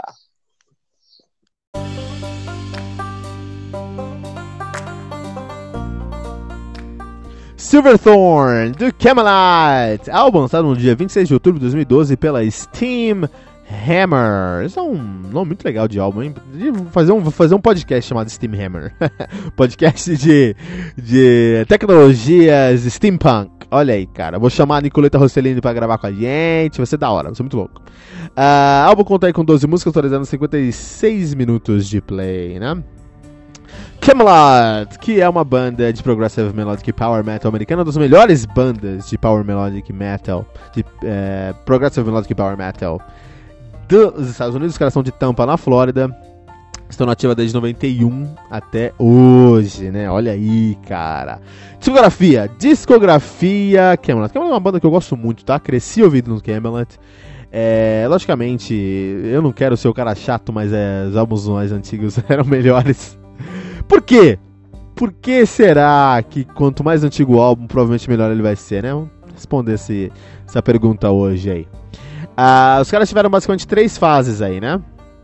Silverthorn, do Camelot, álbum lançado no dia vinte e seis de outubro de dois mil e doze pela Steam Hammer. Isso é um nome muito legal de álbum, hein? Vou fazer um, vou fazer um podcast chamado Steam Hammer. Podcast de, de tecnologias steampunk. Olha aí, cara. Vou chamar a Nicoleta Rossellini pra gravar com a gente. Vai ser da hora, vai ser muito louco. Uh, álbum conta aí com doze músicas, atualizando cinquenta e seis minutos de play, né? Camelot, que é uma banda de Progressive Melodic Power Metal americana, uma das melhores bandas de Power Melodic Metal, de é, Progressive Melodic Power Metal dos Estados Unidos. Os caras são de Tampa, na Flórida. Estão na ativa desde noventa e um até hoje, né? Olha aí, cara. Discografia, discografia Camelot. Camelot é uma banda que eu gosto muito, tá? Cresci ouvindo no Camelot. É, logicamente, eu não quero ser o cara chato, mas é, os álbuns mais antigos eram melhores. Por quê? Por que será que quanto mais antigo o álbum, provavelmente melhor ele vai ser, né? Vamos responder esse, essa pergunta hoje aí. Ah, os caras tiveram basicamente três fases aí, né?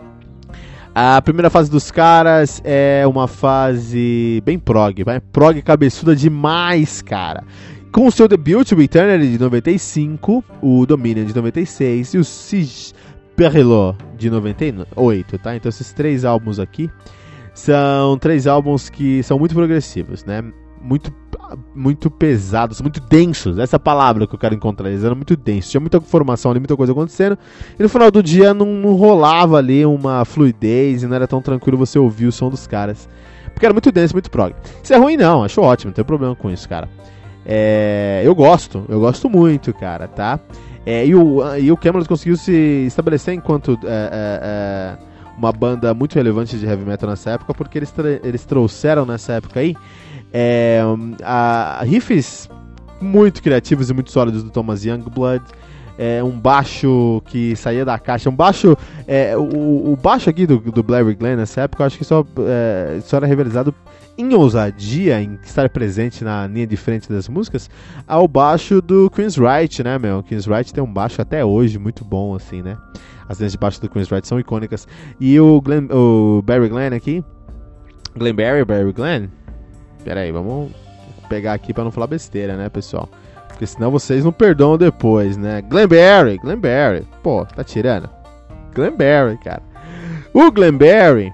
A primeira fase dos caras é uma fase bem prog, vai? Prog cabeçuda demais, cara. Com o seu debut, o Eternity de noventa e cinco, o Dominion de noventa e seis e o Siege Perrelot de noventa e oito, tá? Então esses três álbuns aqui são três álbuns que são muito progressivos, né? Muito, muito pesados, muito densos. Essa palavra que eu quero encontrar. Eles eram muito densos. Tinha muita informação ali, muita coisa acontecendo. E no final do dia não, não rolava ali uma fluidez e não era tão tranquilo você ouvir o som dos caras. Porque era muito denso, muito prog. Isso é ruim não, acho ótimo, não tem problema com isso, cara. É, eu gosto, eu gosto muito, cara, tá? É, e, o, e o Camelot conseguiu se estabelecer enquanto... É, é, é, uma banda muito relevante de heavy metal nessa época, porque eles, tra- eles trouxeram nessa época aí é, a, a riffs muito criativos e muito sólidos do Thomas Youngblood, é, um baixo que saía da caixa, um baixo, é, o, o baixo aqui do, do Blair Glenn nessa época, eu acho que só, é, só era realizado em ousadia, em estar presente na linha de frente das músicas, ao baixo do Queensryche, né, meu? O Queensryche tem um baixo até hoje muito bom, assim, né? As linhas de baixo do Queensryche são icônicas. E o, Glenn, o Barry Glenn aqui, Glenn Barry, Barry Glenn, pera aí, vamos pegar aqui pra não falar besteira, né, pessoal? Porque senão vocês não perdoam depois, né? Glenn Barry, Glenn Barry, pô, tá tirando? Glenn Barry, cara. O Glenn Barry,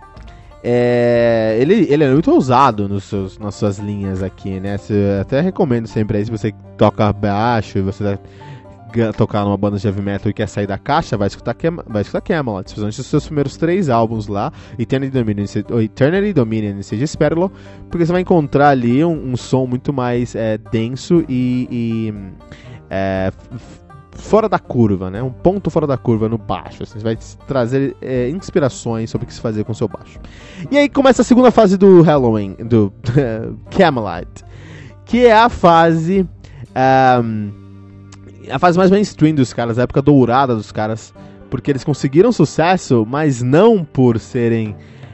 é, ele, ele é muito ousado nos seus, nas suas linhas aqui, né? Eu até recomendo sempre aí, se você toca baixo e você vai tocar numa banda de heavy metal e quer sair da caixa, vai escutar, Cam- vai escutar Camelot, especialmente os seus primeiros três álbuns lá, Eternity Dominion, Eternity Dominion e Siege Perrelot, porque você vai encontrar ali um, um som muito mais é, denso e, e é, f- fora da curva, né? Um ponto fora da curva no baixo. Assim, você vai trazer é, inspirações sobre o que se fazer com o seu baixo. E aí começa a segunda fase do Halloween, do Camelot, que é a fase um, a fase mais mainstream dos caras, a época dourada dos caras, porque eles conseguiram sucesso, mas não por serem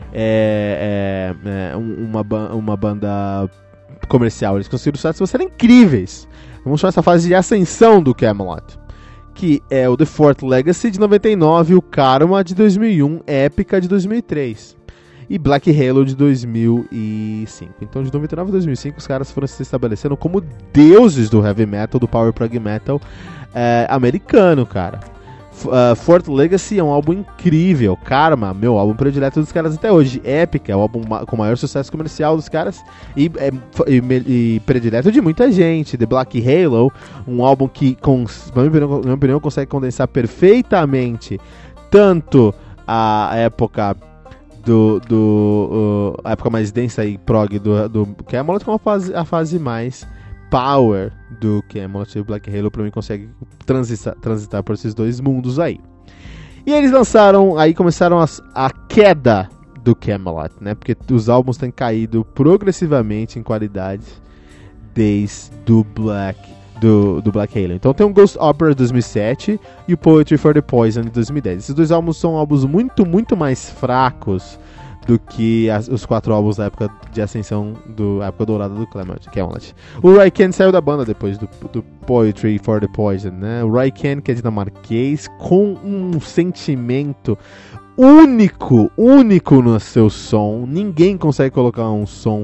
é, é, é, uma, uma banda comercial, eles conseguiram sucesso por serem incríveis. Vamos chamar essa fase de ascensão do Kamelot, que é o The Fourth Legacy de noventa e nove, o Karma de dois mil e um, Épica de dois mil e três e Black Halo de dois mil e cinco. Então de noventa e nove a dois mil e cinco os caras foram se estabelecendo como deuses do heavy metal, do power prog metal é, americano, cara. Uh, Fourth Legacy é um álbum incrível. Karma, meu álbum predileto dos caras até hoje. Épica é o álbum ma- com maior sucesso comercial dos caras e, é, e, e predileto de muita gente. The Black Halo, um álbum que, com, na minha opinião, na minha opinião, consegue condensar perfeitamente tanto a época do, do uh, a época mais densa e prog do, do Kamelot, como a fase, a fase mais power do Kamelot. E o Black Halo pra mim consegue transitar, transitar por esses dois mundos aí. E eles lançaram, aí começaram a, a queda do Kamelot, né? Porque os álbuns têm caído progressivamente em qualidade desde do Black, do, do Black Halo. Então tem o Ghost Opera de dois mil e sete e o Poetry for the Poison de dois mil e dez. Esses dois álbuns são álbuns muito, muito mais fracos do que as, os quatro álbuns da época de ascensão, do época dourada do Kamelot. O Raikkonen saiu da banda depois do, do Poetry for the Poison, né? O Raikkonen, que é dinamarquês, com um sentimento único, único no seu som. Ninguém consegue colocar um som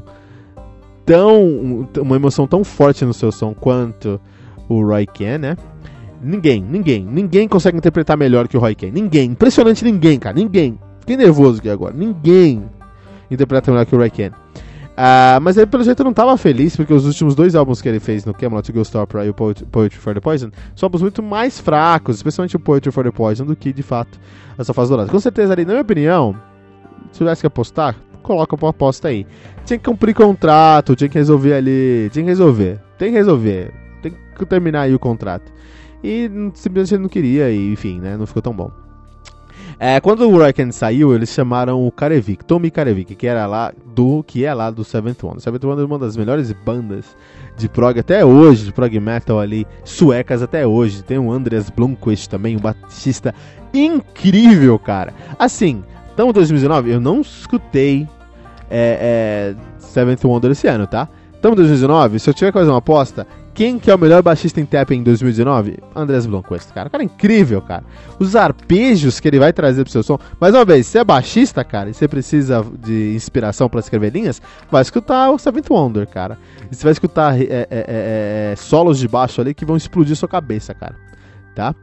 tão, uma emoção tão forte no seu som quanto o Raikkonen, né? Ninguém, ninguém, ninguém consegue interpretar melhor que o Raikkonen. Ninguém, impressionante ninguém, cara, ninguém. Fiquei nervoso aqui agora. Ninguém interpreta melhor que o Raikkonen. Uh, mas ele, pelo jeito, não estava feliz, porque os últimos dois álbuns que ele fez no Kamelot, o Ghost Opera e o Poetry, Poetry for the Poison, são álbuns muito mais fracos, especialmente o Poetry for the Poison, do que, de fato, essa fase dourada. Com certeza, ali, na minha opinião, se tivesse que apostar, coloca uma aposta aí. Tinha que cumprir contrato, tinha que resolver ali, tinha que resolver, tem que resolver, tem que terminar aí o contrato. E simplesmente ele não queria, e enfim, né, não ficou tão bom. É, quando o Raikkonen saiu, eles chamaram o Karevik, Tommy Karevik, que era lá do que é lá do Seventh Wonder. Seventh Wonder é uma das melhores bandas de prog até hoje, de prog metal ali, suecas até hoje. Tem o Andreas Blomqvist também, um baixista incrível, cara. Assim, então em dois mil e dezenove eu não escutei é, é, Seventh Wonder esse ano, tá? Então em dois mil e dezenove, se eu tiver que fazer uma aposta, quem que é o melhor baixista em tap em dois mil e dezenove? Andreas Blomqvist, cara. O cara é incrível, cara. Os arpejos que ele vai trazer pro seu som. Mais uma vez, se é baixista, cara, e você precisa de inspiração pra escrever linhas, vai escutar o Seventh Wonder, cara. E você vai escutar é, é, é, é, solos de baixo ali que vão explodir sua cabeça, cara. Tá?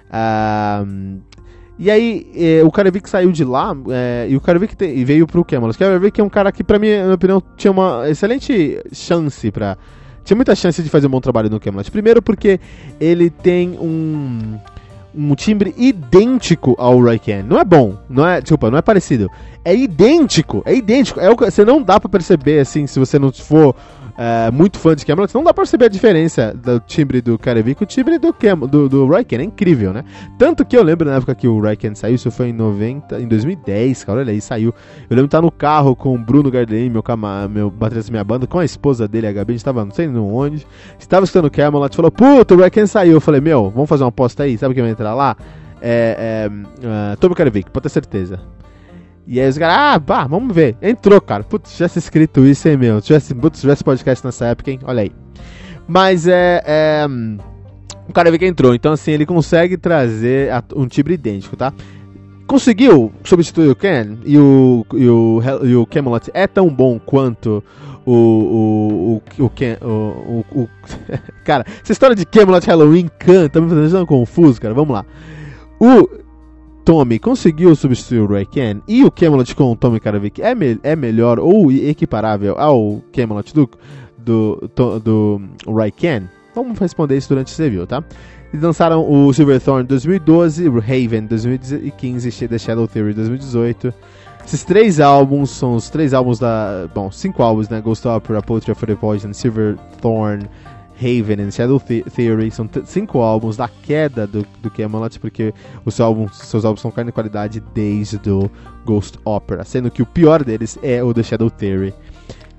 Ah, e aí, é, o Karevik saiu de lá, é, e o Karevik te, e veio pro Kamelot. O Karevik é um cara que, pra mim, na minha opinião, tinha uma excelente chance pra... Tinha muita chance de fazer um bom trabalho no Kamelot. Primeiro porque ele tem um, um timbre idêntico ao Raikkonen. Não é bom, não é, desculpa, não é parecido. É idêntico, é idêntico. É o, você não dá pra perceber, assim, se você não for é, muito fã de Kamelot, não dá pra perceber a diferença do timbre do Karevik e o timbre do, Cam, do, do Raikkonen. É incrível, né? Tanto que eu lembro na época que o Raikkonen saiu, isso foi em, noventa, em dois mil e dez, cara, olha aí, saiu. Eu lembro de estar no carro com o Bruno Garden, meu, cama, meu baterista da minha banda, com a esposa dele, a Gabi, a gente tava não sei onde, estava escutando o Kamelot, falou, puta, o Raikkonen saiu. Eu falei, meu, vamos fazer uma aposta aí, sabe quem vai entrar lá? É, é, uh, Tommy Karevik, pode ter certeza. E aí os caras, ah, bah, vamos ver. Entrou, cara. Putz, se tivesse escrito isso, hein, meu. Se tivesse, putz, se tivesse podcast nessa época, hein. Olha aí. Mas é... é o Karevik entrou. Então, assim, ele consegue trazer um timbre idêntico, tá? Conseguiu substituir o Ken. E o, e o, e o Kamelot é tão bom quanto o... O, o, o, Ken, o, o, o cara, essa história de Kamelot Halloween Khan tá me fazendo confuso, cara. Vamos lá. O... Tommy conseguiu substituir o Raikkonen e o Kamelot com o Tommy Karevik é, me, é melhor ou equiparável ao Kamelot do, do, do, do Raikkonen? Vamos responder isso durante esse review, tá? Eles lançaram o Silverthorn em dois mil e doze, o Haven em dois mil e quinze e The Shadow Theory em dois mil e dezoito. Esses três álbuns são os três álbuns da... Bom, cinco álbuns, né? Ghost Opera, Poetry for the Poison, Silverthorn, Haven e Shadow Theory. São t- cinco álbuns da queda do, do Kamelot, porque os seus álbuns, seus álbuns estão caindo em qualidade desde o Ghost Opera, sendo que o pior deles é o The Shadow Theory,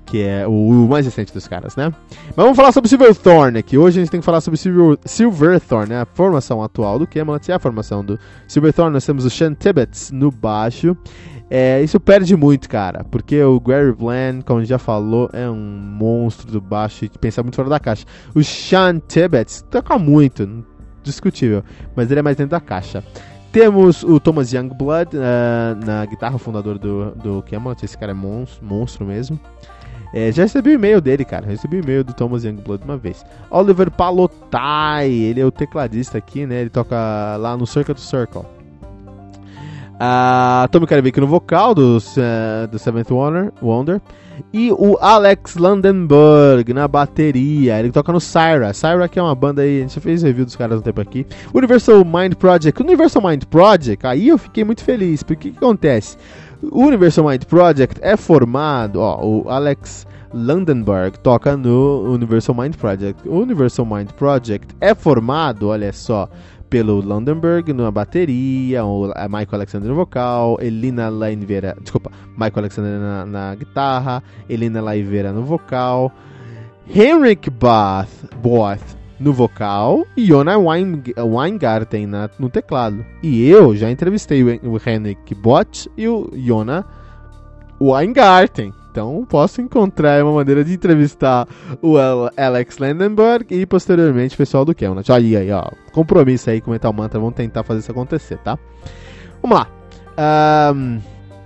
que é o, o mais recente dos caras, né? Mas vamos falar sobre Silverthorne aqui. Hoje a gente tem que falar sobre Silver, Silverthorne, né? A formação atual do Camelot e a formação do Silverthorne. Nós temos o Sean Tibbetts no baixo. É, isso perde muito, cara, porque o Gary Bland, como a gente já falou, é um monstro do baixo e pensa muito fora da caixa. O Sean Tibbetts toca muito, discutível, mas ele é mais dentro da caixa. Temos o Thomas Youngblood uh, na guitarra, o fundador do, do Camelot. Esse cara é monstro, monstro mesmo. É, já recebi o e-mail dele, cara. Recebi o e-mail do Thomas Youngblood uma vez. Oliver Palotai, ele é o tecladista aqui, né? Ele toca lá no Circle to Circle. Uh, Tommy Karevic no vocal do, uh, do Seventh Wonder, Wonder. E o Alex Landenberg na bateria. Ele toca no Syra. Syra que é uma banda aí, a gente já fez review dos caras um tempo aqui. Universal Mind Project. O Universal Mind Project, aí eu fiquei muito feliz. Porque o que acontece? O Universal Mind Project é formado, ó, o Alex Landenberg toca no Universal Mind Project. O Universal Mind Project é formado, olha só, pelo Landenberg na bateria, o Michael Alexander no vocal, Elina Laiveira, desculpa, Michael Alexander na, na guitarra, Elina Laiveira no vocal, Henrik Both, Both no vocal e Jona Wein, Weingarten na, no teclado. E eu já entrevistei o, o Henrik Both e o Jona Weingarten. Então posso encontrar uma maneira de entrevistar o Alex Landenberg e posteriormente o pessoal do Camelot. Olha aí, ó, compromisso aí com o Metal Mantra. Vamos tentar fazer isso acontecer, tá? Vamos lá. Um,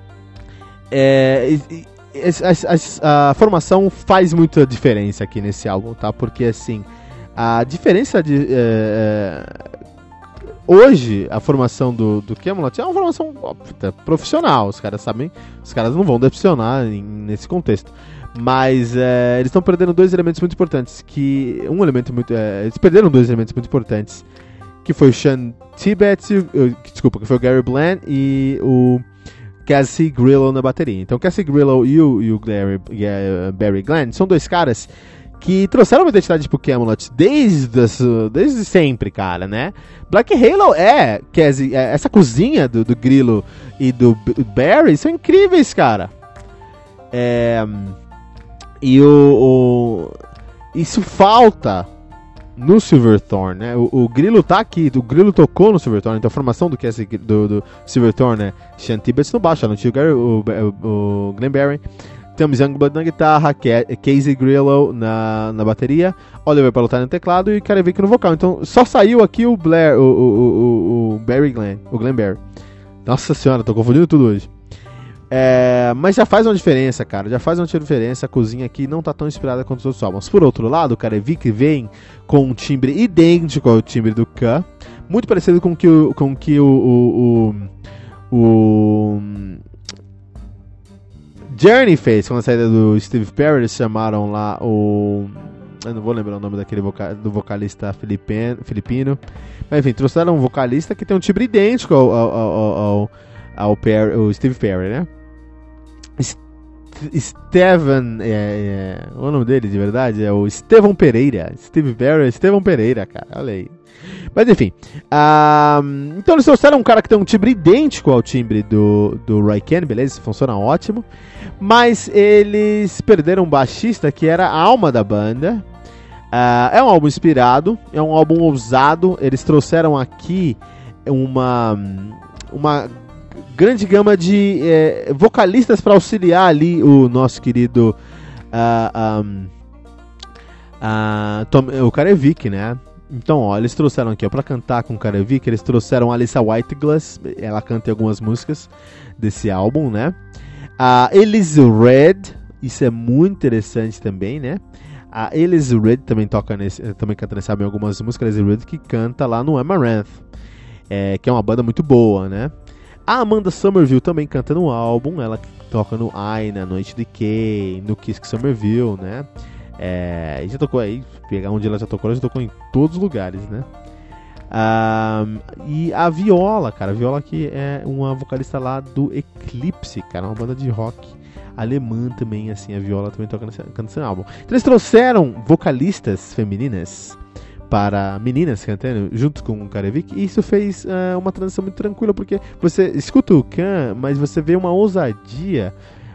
é, a, a, a formação faz muita diferença aqui nesse álbum, tá? Porque assim, a diferença de... É, hoje, a formação do, do Camelot é uma formação óbvio, profissional. Os caras sabem, os caras não vão decepcionar em, nesse contexto. Mas é, eles estão perdendo dois elementos muito importantes. Que um elemento muito, é, eles perderam dois elementos muito importantes, que foi o Sean Tibbetts, desculpa, que foi o Gary Bland e o Cassie Grillo na bateria. Então, Cassie Grillo e o, e o Gary, uh, Barry Glenn são dois caras que trouxeram uma identidade pro Camelot desde, desde sempre, cara, né? Black Halo é, Cassie, é essa cozinha do, do Grillo e do Barry são incríveis, cara. É, e o, o isso falta no Silverthorne, né? O, o Grillo tá aqui, o Grillo tocou no Silverthorne, então a formação do Cassie do, do Silverthorne é Sean Tibbetts no baixo, não tinha o, Gary, o, o, o Glenn Barry. Temos Youngblood na guitarra, Casey Grillo na, na bateria, Oliver Palotai no teclado e Karevic no vocal. Então só saiu aqui o Blair, o, o, o, o Barry Glenn, o Glenn Barry. Nossa senhora, tô confundindo tudo hoje. É, mas já faz uma diferença, cara. Já faz uma diferença. A cozinha aqui não tá tão inspirada quanto os outros álbuns. Por outro lado, o Karevic vem com um timbre idêntico ao timbre do K, muito parecido com que o, com que o, o, o, o Journey fez com a saída do Steve Perry. Eles chamaram lá o... eu não vou lembrar o nome daquele voca... do vocalista filipino, filipino. Mas enfim, trouxeram um vocalista que tem um timbre idêntico ao, ao, ao, ao, ao Perry, o Steve Perry, né? Steven, é, é, o nome dele de verdade é o Estevão Pereira. Steve Perry, Estevão Pereira, cara, olha aí. Mas enfim, um, então eles trouxeram um cara que tem um timbre idêntico ao timbre do, do Roy Kent, beleza, isso funciona ótimo. Mas eles perderam um baixista que era a alma da banda. Uh, é um álbum inspirado, é um álbum ousado. Eles trouxeram aqui uma, uma grande gama de é, vocalistas para auxiliar ali o nosso querido uh, um, uh, Tom, o Karevic, né? Então, ó, eles trouxeram aqui, ó, pra cantar com o Karevic, eles trouxeram a Alyssa Whiteglass, ela canta em algumas músicas desse álbum, né? A Elise Red, isso é muito interessante também, né? A Elise Red também toca nesse, também canta nesse álbum em algumas músicas, a Elise Red que canta lá no Amaranth, é, que é uma banda muito boa, né? A Amanda Somerville também canta no álbum, ela toca no I, na Noite de Kay, no Kiss Somerville, né? É, já tocou aí, pegar onde ela já tocou, ela já tocou em todos os lugares, né? Um, e a Viola, cara, a Viola aqui é uma vocalista lá do Eclipse, cara, uma banda de rock alemã também, assim, a Viola também toca nesse, canta nesse álbum. Então eles trouxeram vocalistas femininas para meninas cantando junto com o Karevic, e isso fez uh, uma transição muito tranquila, porque você escuta o Khan, mas você vê uma ousadia,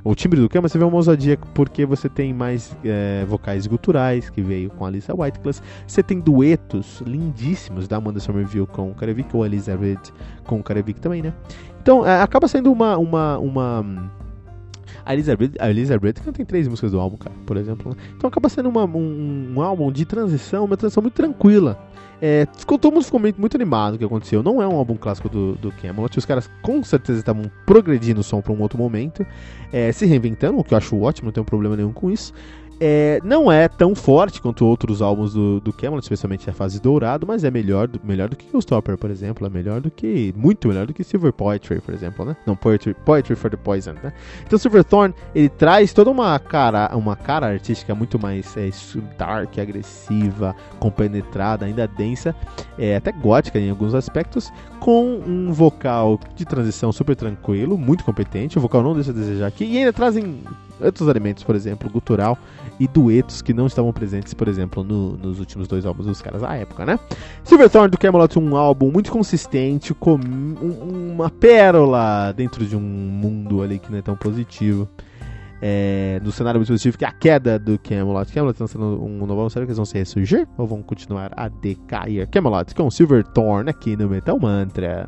o timbre do Camelot, você vê uma ousadia porque você tem mais é, vocais guturais, que veio com a Alissa Whiteclass, você tem duetos lindíssimos da Amanda Somerville com o Karevik, ou a Elizabeth com o Karevik também, né? Então, é, acaba sendo uma... uma, uma A Elizabeth, a Elizabeth não tem três músicas do álbum, cara, por exemplo. Né? Então acaba sendo uma, um, um álbum de transição, uma transição muito tranquila. É, ficou, todo mundo ficou muito, muito animado com o que aconteceu. Não é um álbum clássico do, do Camelot. Os caras com certeza estavam progredindo o som para um outro momento, é, se reinventando, o que eu acho ótimo, não tenho problema nenhum com isso. É, não é tão forte quanto outros álbuns do, do Camelot, especialmente a fase dourado, mas é melhor do, melhor do que Ghost-Topper, por exemplo, é melhor do que, muito melhor do que Silver Poetry, por exemplo, né? Não, Poetry, Poetry for the Poison, né? Então Silverthorn, ele traz toda uma cara, uma cara artística muito mais é, dark, agressiva, compenetrada, ainda densa, é, até gótica em alguns aspectos, com um vocal de transição super tranquilo, muito competente, o vocal não deixa a desejar aqui, e ainda trazem outros elementos, por exemplo, gutural e duetos que não estavam presentes, por exemplo, no, nos últimos dois álbuns dos caras à época, né? Silverthorn do Camelot, um álbum muito consistente, com um, uma pérola dentro de um mundo ali que não é tão positivo. É, no cenário muito positivo, que é a queda do Camelot. Camelot lançando um novo álbum, será que eles vão se ressurgir? Ou vão continuar a decair? Camelot com Silverthorn aqui no Metal Mantra.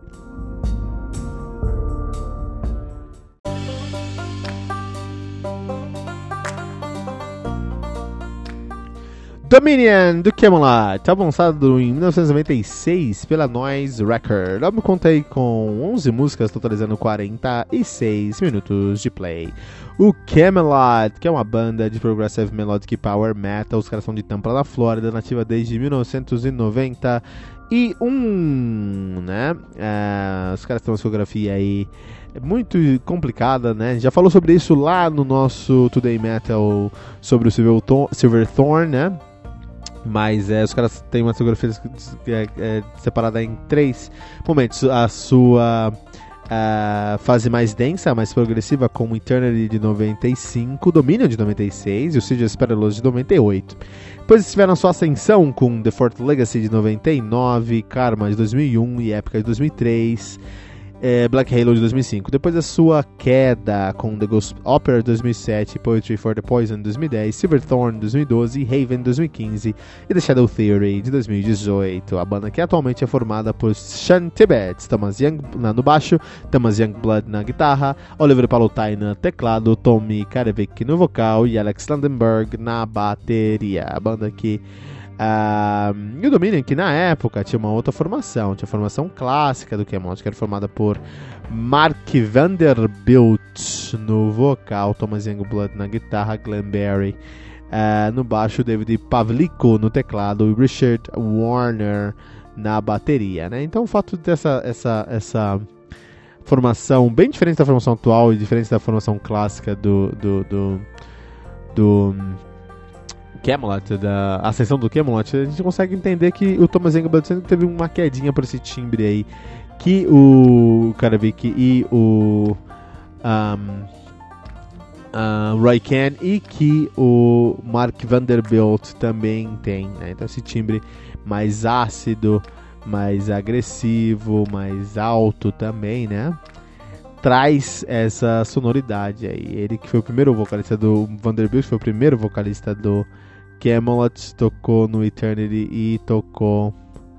Dominion, do Camelot, álbum lançado em mil novecentos e noventa e seis pela Noise Record. O álbum conta aí com onze músicas, totalizando quarenta e seis minutos de play. O Camelot, que é uma banda de Progressive Melodic Power Metal, os caras são de Tampa, na Flórida, nativa desde mil novecentos e noventa e um, né? Uh, os caras têm uma discografia aí muito complicada, né? Já falou sobre isso lá no nosso Today Metal, sobre o Silverthorn, né? Mas é, os caras têm uma discografia é, é, separada em três momentos. A sua a fase mais densa, mais progressiva, como Eternity de noventa e cinco, Dominion de noventa e seis e o Siege Perilous de noventa e oito. Depois eles tiveram sua ascensão com The Fourth Legacy de noventa e nove, Karma de dois mil e um e Epica de dois mil e três. É, Black Halo de dois mil e cinco. Depois da sua queda com The Ghost Opera de dois mil e sete, Poetry for the Poison de dois mil e dez, Silverthorn de dois mil e doze, Haven de dois mil e quinze e The Shadow Theory de dois mil e dezoito. A banda que atualmente é formada por Sean Tibbetts, Thomas Young no baixo, Thomas Youngblood na guitarra, Oliver Palutai no teclado, Tommy Karevik no vocal e Alex Landenberg na bateria. A banda que Uh, e o Dominion, que na época tinha uma outra formação, tinha a formação clássica do Camelot, que era formada por Mark Vanderbilt no vocal, Thomas Youngblood na guitarra, Glenn Barry uh, no baixo, David Pavlico no teclado e Richard Warner na bateria, né? Então o fato dessa essa, essa formação bem diferente da formação atual e diferente da formação clássica do do, do, do Camelot, da ascensão do Camelot, a gente consegue entender que o Thomas Youngblood sempre teve uma quedinha por esse timbre aí, que o Karevik e o um, uh, Roy Kent e que o Mark Vanderbilt também tem, né? Então esse timbre mais ácido, mais agressivo, mais alto também, né? Traz essa sonoridade aí. Ele que foi o primeiro vocalista do Vanderbilt, foi o primeiro vocalista do Camelot, tocou no Eternity e tocou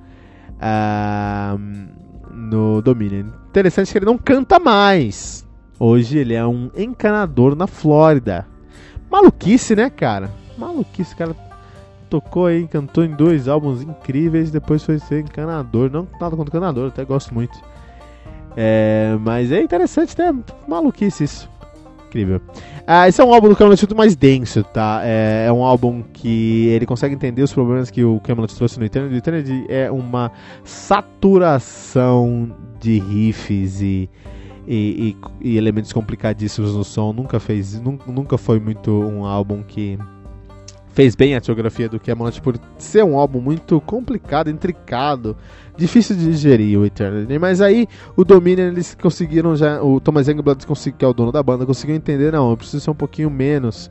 uh, no Dominion. Interessante que ele não canta mais. Hoje ele é um encanador na Flórida. Maluquice, né, cara? Maluquice, cara. Tocou aí, cantou em dois álbuns incríveis, depois foi ser encanador. Não nada contra encanador, até gosto muito. É, mas é interessante, né? Maluquice isso. Incrível. Ah, esse é um álbum do Camelot muito mais denso, tá? É, é um álbum que ele consegue entender os problemas que o Camelot trouxe no Eternity. O Eternity é uma saturação de riffs e, e, e, e elementos complicadíssimos no som. Nunca fez, nunca, nunca foi muito um álbum que fez bem a discografia do Camelot por ser um álbum muito complicado, intricado, difícil de digerir o Eternity. Mas aí o Dominion, eles conseguiram já, o Thomas Youngblood, que é o dono da banda, conseguiu entender, não, eu preciso ser um pouquinho menos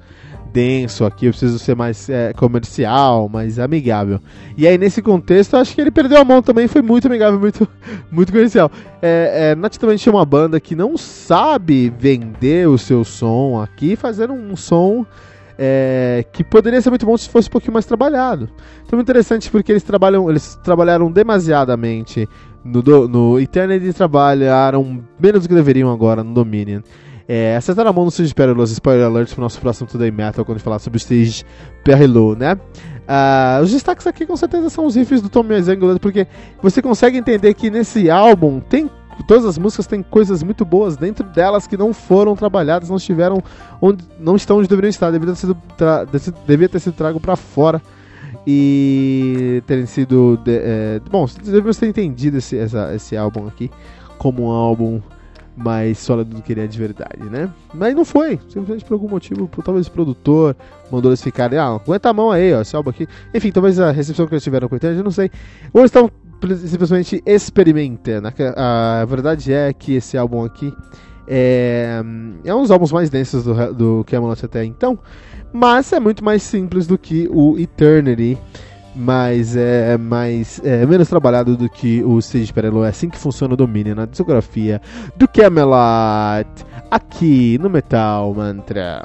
denso aqui, eu preciso ser mais é, comercial, mais amigável. E aí, nesse contexto, eu acho que ele perdeu a mão também, foi muito amigável, muito, muito comercial. É, é, notadamente é uma banda que não sabe vender o seu som aqui, fazendo um som é, que poderia ser muito bom se fosse um pouquinho mais trabalhado. Então é interessante porque eles, trabalham, eles trabalharam demasiadamente no, do, no Eternity e trabalharam menos do que deveriam agora no Dominion. É, acertaram a mão no Stage Perilous, spoiler alert pro nosso próximo Today Metal, quando a gente falar sobre o Stage Perilous, né? Uh, os destaques aqui com certeza são os riffs do Tommy Zangler, porque você consegue entender que nesse álbum tem, todas as músicas têm coisas muito boas dentro delas que não foram trabalhadas, não estiveram onde, não estão onde deveriam estar, devia ter sido, tra, devia ter sido trago pra fora e terem sido de, é, bom, devemos ter entendido esse, essa, esse álbum aqui como um álbum mais sólido do que ele é de verdade, né? Mas não foi, simplesmente por algum motivo, por, talvez o produtor mandou eles ficarem, ah, aguenta a mão aí, ó, esse álbum aqui. Enfim, talvez a recepção que eles tiveram com o Eternity, eu não sei. Ou eles estão simplesmente experimentando. A, a verdade é que esse álbum aqui é, é um dos álbuns mais densos do, do Kamelot até então, mas é muito mais simples do que o Eternity. Mas é mais é, menos trabalhado do que o Stage Perilous. É assim que funciona o domínio na discografia do Kamelot, aqui no Metal Mantra.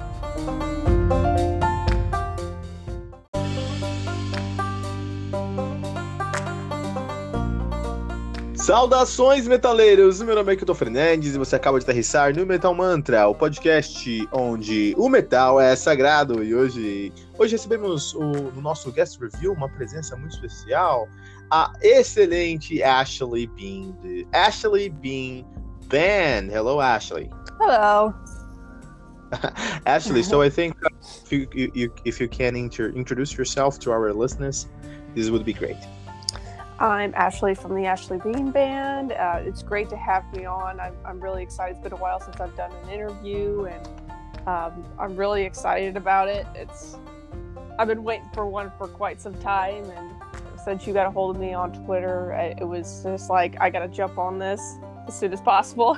Saudações, metaleiros! Meu nome é Kilton Fernandes e você acaba de aterrissar no Metal Mantra, o podcast onde o metal é sagrado. E hoje, hoje recebemos o, no nosso guest review uma presença muito especial, a excelente Ashley Bean, de Ashley Bean Band. Hello, Ashley. Hello. Ashley, so I think if you, you, if you can inter- introduce yourself to our listeners, this would be great. I'm Ashley from the Ashley Bean Band. Uh, it's great to have me on. I'm, I'm really excited. It's been a while since I've done an interview, and um, I'm really excited about it. It's I've been waiting for one for quite some time, and since you got a hold of me on Twitter, it was just like, I got to jump on this as soon as possible.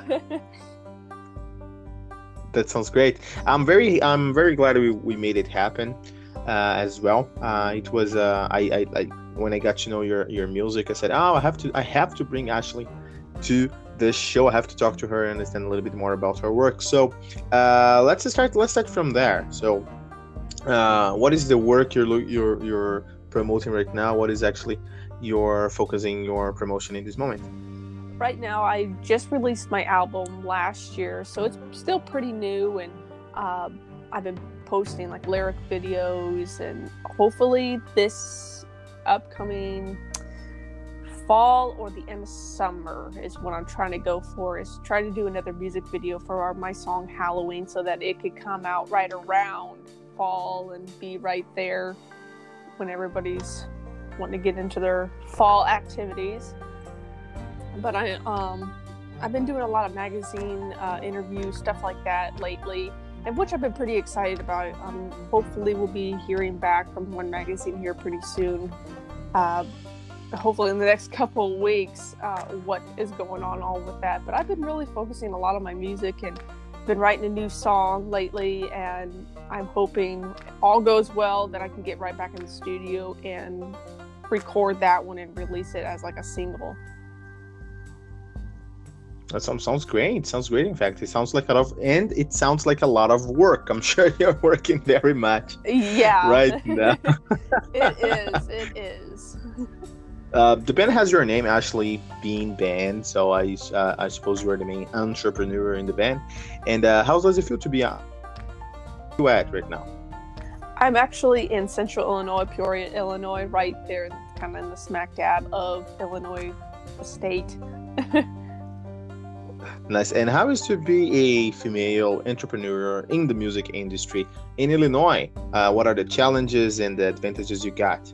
That sounds great. I'm very I'm very glad we, we made it happen uh, as well. Uh, it was uh, I, I, I when I got to know your, your music, I said, oh, I have to I have to bring Ashley to this show. I have to talk to her and understand a little bit more about her work. So uh, let's start. Let's start from there. So, uh, what is the work you're you're you're promoting right now? What is actually you're focusing your promotion in this moment? Right now, I just released my album last year, so it's still pretty new, and uh, I've been posting like lyric videos, and hopefully this upcoming fall or the end of summer is what I'm trying to go for, is try to do another music video for our, my song Halloween, so that it could come out right around fall and be right there when everybody's wanting to get into their fall activities. But I um I've been doing a lot of magazine uh, interviews, stuff like that lately, and which I've been pretty excited about. Um, hopefully we'll be hearing back from one magazine here pretty soon. Uh, hopefully in the next couple of weeks, uh, what is going on all with that. But I've been really focusing a lot on my music and been writing a new song lately, and I'm hoping all goes well that I can get right back in the studio and record that one and release it as like a single. That sounds, sounds great. Sounds great. In fact, it sounds like a lot of, and it sounds like a lot of work. I'm sure you're working very much. Yeah. Right now. It is. It is. Uh, the band has your name, Ashley Bean Band. So I, uh, I suppose you're the main entrepreneur in the band. And uh, how does it feel to be on? Where you at right now? I'm actually in Central Illinois, Peoria, Illinois, right there, kind of in the smack dab of Illinois state. Nice. And how is to be a female entrepreneur in the music industry in Illinois? Uh, what are the challenges and the advantages you got?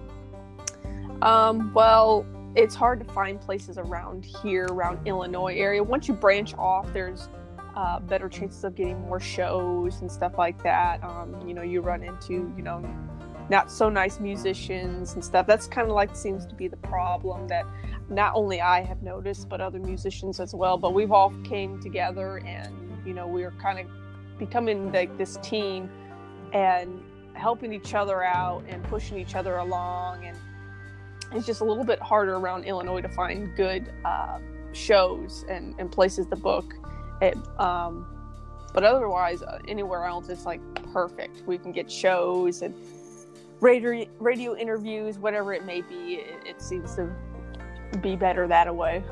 Um, well, it's hard to find places around here, around Illinois area. Once you branch off, there's uh, better chances of getting more shows and stuff like that. Um, you know, you run into, you know, not so nice musicians and stuff. That's kind of like seems to be the problem that not only I have noticed, but other musicians as well. But we've all came together, and you know, we're kind of becoming like this team and helping each other out and pushing each other along. And it's just a little bit harder around Illinois to find good uh, shows and, and places to book it. Um, but otherwise, uh, anywhere else, it's like perfect. We can get shows and radio, radio interviews, whatever it may be. It, it seems to be better that way.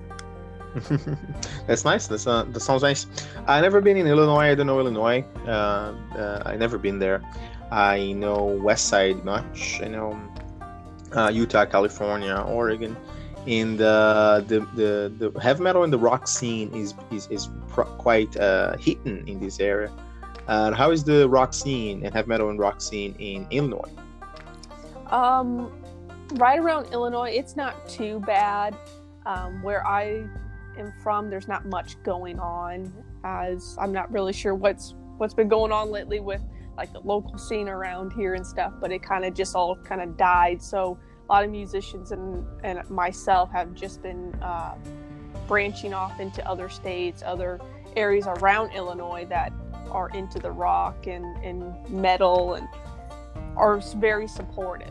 That's nice. That's uh, that sounds nice. I never been in Illinois. I don't know Illinois. Uh, uh, I never been there. I know West Side much. I know uh, Utah, California, Oregon, and uh, the the the heavy metal and the rock scene is is is pro- quite uh, hidden in this area. Uh, how is the rock scene and heavy metal and rock scene in Illinois? Um, right around Illinois, it's not too bad. Um, where I am from, there's not much going on, as I'm not really sure what's what's been going on lately with like the local scene around here and stuff, but it kind of just all kind of died. So a lot of musicians and, and myself have just been uh, branching off into other states, other areas around Illinois that are into the rock and, and metal and are very supportive.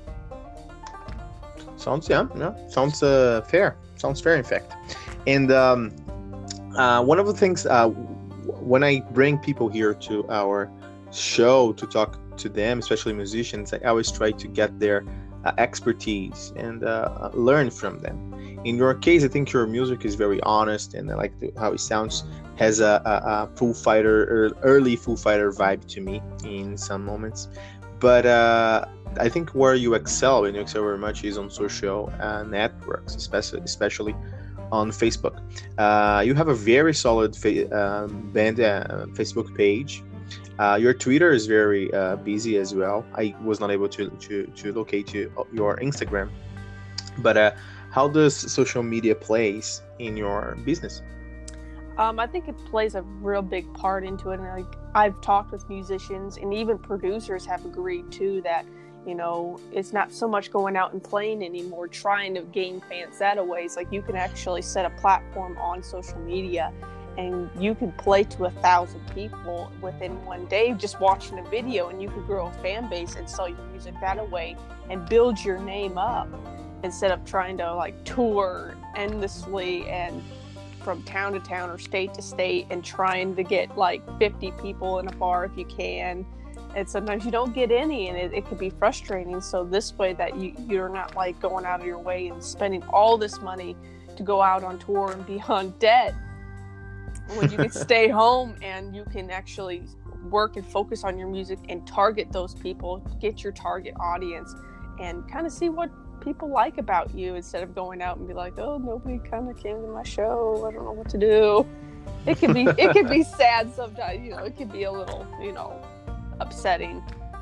Sounds, yeah, no, sounds uh, fair. Sounds fair, in fact. And um, uh, one of the things, uh, when I bring people here to our show to talk to them, especially musicians, I always try to get their uh, expertise and uh, learn from them. In your case, I think your music is very honest, and I like the, how it sounds. Has a, a, a Foo Fighter, early Foo Fighter vibe to me in some moments. But uh, I think where you excel, and you excel very much, is on social uh, networks, especially especially on Facebook. Uh, you have a very solid fa- um, band uh, Facebook page. Uh, your Twitter is very uh, busy as well. I was not able to to, to locate you, your Instagram. But uh, how does social media plays in your business? Um, I think it plays a real big part into it. And like, I've talked with musicians, and even producers have agreed too that, you know, it's not so much going out and playing anymore, trying to gain fans that way. It's like you can actually set a platform on social media, and you can play to a thousand people within one day just watching a video, and you can grow a fan base and sell your music that way and build your name up instead of trying to like tour endlessly and from town to town or state to state and trying to get like fifty people in a bar if you can. And sometimes you don't get any, and it, it can be frustrating. So this way that you, you're not like going out of your way and spending all this money to go out on tour and be on debt, when you can stay home and you can actually work and focus on your music and target those people, get your target audience, and kind of see what people like about you instead of going out and be like, oh, nobody kind of came to my show, I don't know what to do. It can be it can be sad sometimes, you know, it can be a little, you know, upsetting.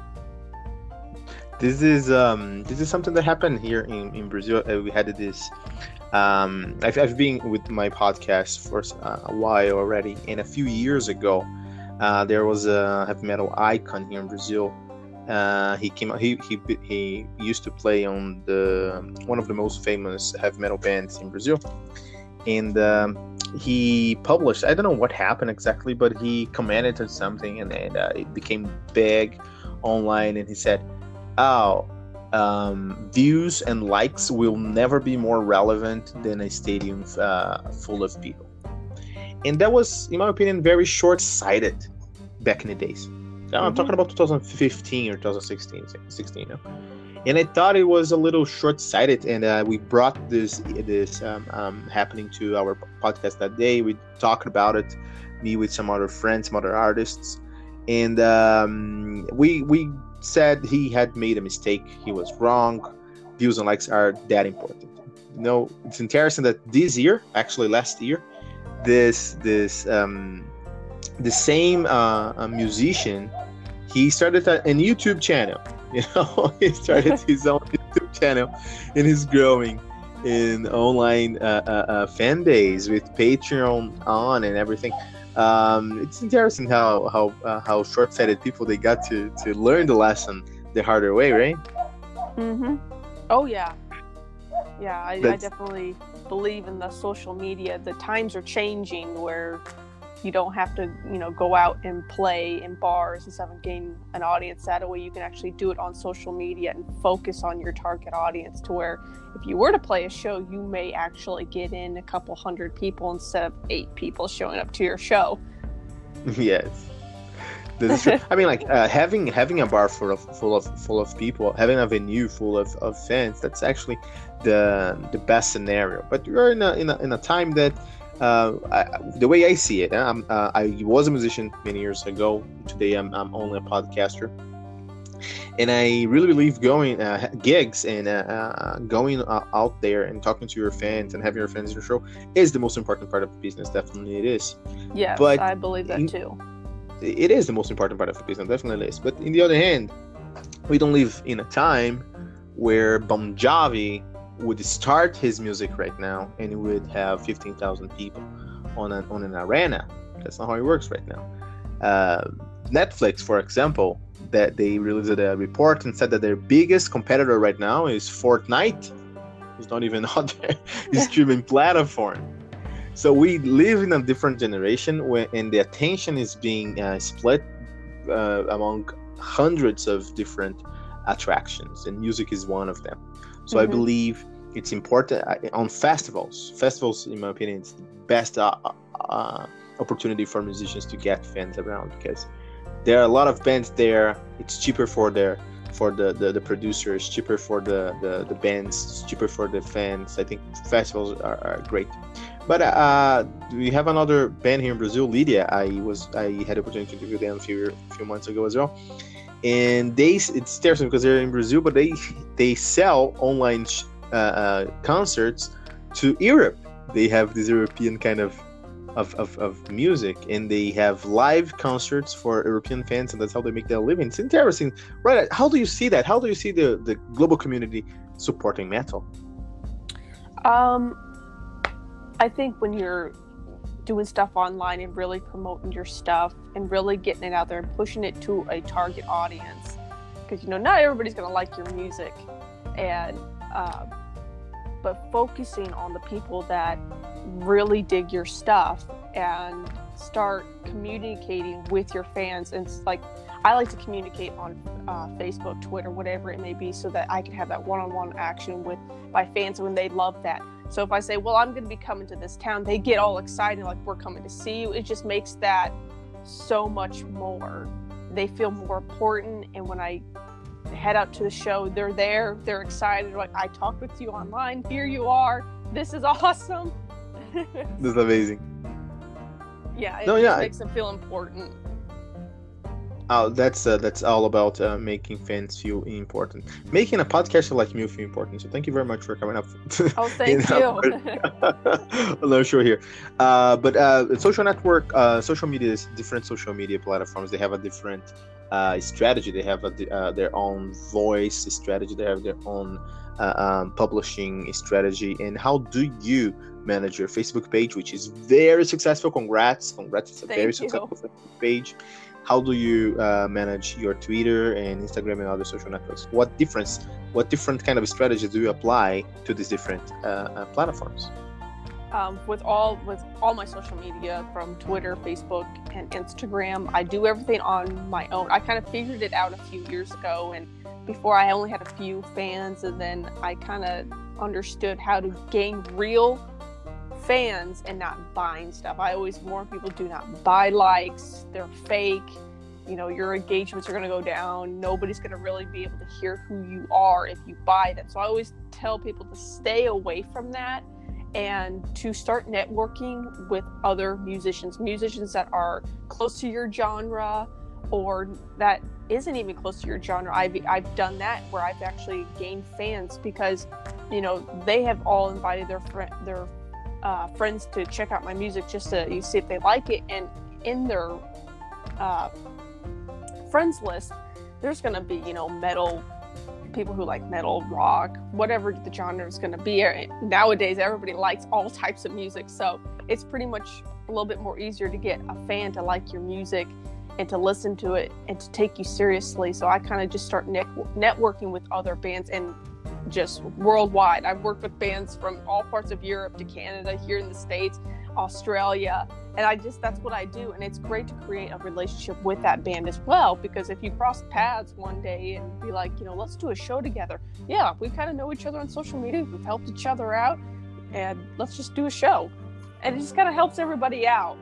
This is um this is something that happened here in, in Brazil. Uh, we had this um I've, I've been with my podcast for uh, a while already, and a few years ago uh, there was a heavy metal icon here in Brazil. Uh, he came. He he he used to play on the one of the most famous heavy metal bands in Brazil, and um, he published. I don't know what happened exactly, but he commented on something, and, and uh, it became big online. And he said, "Oh, um, views and likes will never be more relevant than a stadium uh, full of people." And that was, in my opinion, very short-sighted back in the days. I'm mm-hmm. talking about two thousand fifteen or twenty sixteen, sixteen, you know? And I thought it was a little short-sighted, and uh, we brought this this um, um, happening to our podcast that day. We talked about it, me with some other friends, some other artists, and um, we we said he had made a mistake. He was wrong. Views and likes are that important. You know, it's interesting that this year, actually last year, this this um, the same uh, uh, musician, he started a, a YouTube channel. You know, he started his own YouTube channel, and he's growing in online uh, uh, uh, fan base with Patreon on and everything. Um, it's interesting how how uh, how short-sighted people, they got to to learn the lesson the harder way, right? Mm-hmm. Oh yeah, yeah. I, I definitely believe in the social media. The times are changing where you don't have to, you know, go out and play in bars and stuff and gain an audience that way. You can actually do it on social media and focus on your target audience, to where if you were to play a show, you may actually get in a couple hundred people instead of eight people showing up to your show. Yes. That's true. I mean, like uh, having having a bar full of full of full of people, having a venue full of, of fans. That's actually the the best scenario. But we're in a in a, in a time that, uh, I, the way I see it, I'm, uh, I was a musician many years ago. Today, I'm I'm only a podcaster, and I really believe going uh, gigs and uh, uh, going uh, out there and talking to your fans and having your fans in your show is the most important part of the business. Definitely, it is. Yes, but I believe that too. It is the most important part of the business, definitely is. But in the other hand, we don't live in a time where Bon Jovi would start his music right now and he would have fifteen thousand people on an on an arena. That's not how it works right now. Uh, Netflix, for example, that they released a report and said that their biggest competitor right now is Fortnite. It's not even on their streaming platform. So we live in a different generation where, and the attention is being uh, split uh, among hundreds of different attractions, and music is one of them. So mm-hmm. I believe it's important uh, on festivals. Festivals, in my opinion, it's the best uh, uh, opportunity for musicians to get fans around, because there are a lot of bands there. It's cheaper for their for the, the, the producers, cheaper for the, the, the bands, it's cheaper for the fans. I think festivals are, are great. But uh, we have another band here in Brazil, Lydia. I was I had the opportunity to interview them a few few months ago as well, and they it's interesting because they're in Brazil, but they they sell online uh, uh, concerts to Europe. They have this European kind of, of of of music, and they have live concerts for European fans, and that's how they make their living. It's interesting, right? How do you see that? How do you see the the global community supporting metal? Um. I think when you're doing stuff online and really promoting your stuff and really getting it out there and pushing it to a target audience, because, you know, not everybody's going to like your music, and uh, but focusing on the people that really dig your stuff and start communicating with your fans. And it's like, I like to communicate on uh, Facebook, Twitter, whatever it may be, so that I can have that one-on-one action with my fans when they love that. So if I say, well, I'm going to be coming to this town, they get all excited, like, we're coming to see you. It just makes that so much more. They feel more important. And when I head out to the show, they're there, they're excited. Like, I talked with you online. Here you are. This is awesome. This is amazing. Yeah, it no, just yeah, makes them feel important. Oh, that's uh, that's all about uh, making fans feel important. Making a podcaster like me feel important. So thank you very much for coming up. Oh, thank you. I'm not sure here. Uh, but uh, social network, uh, social media, different social media platforms, they have a different uh, strategy. They have a, uh, their own voice strategy. They have their own uh, um, publishing strategy. And how do you manage your Facebook page, which is very successful? Congrats. Congrats. It's a thank very you. successful Facebook page. How do you uh, manage your Twitter and Instagram and other social networks? What difference, what different kind of strategy do you apply to these different uh, uh, platforms? Um, with all with all my social media, from Twitter, Facebook, and Instagram, I do everything on my own. I kind of figured it out a few years ago, and before I only had a few fans, and then I kind of understood how to gain real fans and not buying stuff. I always warn people, do not buy likes. They're fake. You know, your engagements are going to go down. Nobody's going to really be able to hear who you are if you buy them. So I always tell people to stay away from that and to start networking with other musicians, musicians that are close to your genre or that isn't even close to your genre. I've, I've done that where I've actually gained fans because, you know, they have all invited their friend, their Uh, friends to check out my music just to you see if they like it, and in their uh, friends list there's going to be, you know, metal people who like metal, rock, whatever the genre is going to be. Nowadays everybody likes all types of music, so it's pretty much a little bit more easier to get a fan to like your music and to listen to it and to take you seriously. So I kind of just start net- networking with other bands and just worldwide. I've worked with bands from all parts of Europe to Canada, here in the States. Australia. And I just, that's what I do. And it's great to create a relationship with that band as well, because if you cross paths one day and be like, you know, let's do a show together. Yeah, we kind of know each other on social media. We've helped each other out, and let's just do a show. And it just kind of helps everybody out.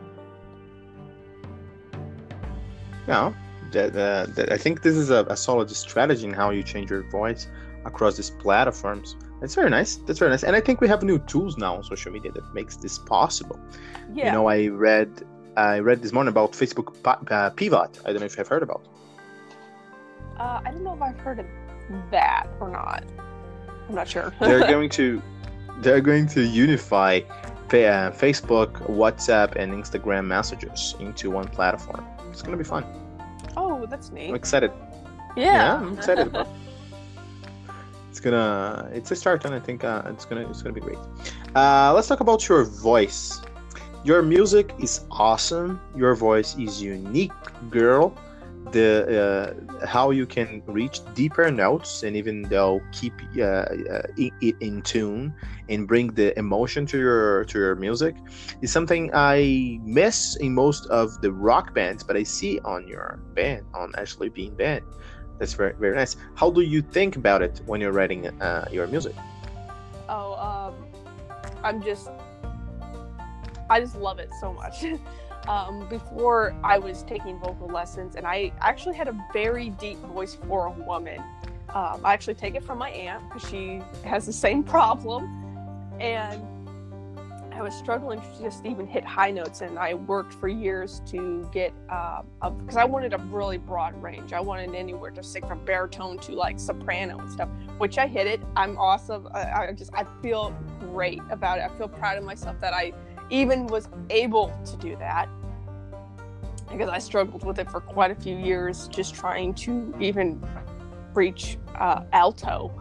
Yeah, that, uh, that, I think this is a, a solid strategy in how you change your voice across these platforms. That's very nice. That's very nice. And I think we have new tools now on social media that makes this possible. Yeah. You know, I read I read this morning about Facebook uh, Pivot. I don't know if you've heard about. Uh, I don't know if I've heard of that or not. I'm not sure. they're going to they're going to unify uh, Facebook, WhatsApp, and Instagram messages into one platform. It's going to be fun. Oh, that's neat. I'm excited. Yeah, yeah I'm excited about it. It's gonna, it's a start, and I think uh, it's gonna, it's gonna be great. Uh, let's talk about your voice. Your music is awesome. Your voice is unique, girl. The uh, how you can reach deeper notes and even though keep uh, uh, it in tune and bring the emotion to your to your music is something I miss in most of the rock bands, but I see on your band, on Ashley Bean Band. That's very, very nice. How do you think about it when you're writing uh, your music? Oh, um, I'm just, I just love it so much. um, before I was taking vocal lessons, and I actually had a very deep voice for a woman. Um, I actually take it from my aunt because she has the same problem, and I was struggling to just even hit high notes, and I worked for years to get, uh, because I wanted a really broad range. I wanted anywhere to sing from baritone to like soprano and stuff, which I hit it. I'm awesome. I, I just, I feel great about it. I feel proud of myself that I even was able to do that, because I struggled with it for quite a few years, just trying to even reach uh, alto.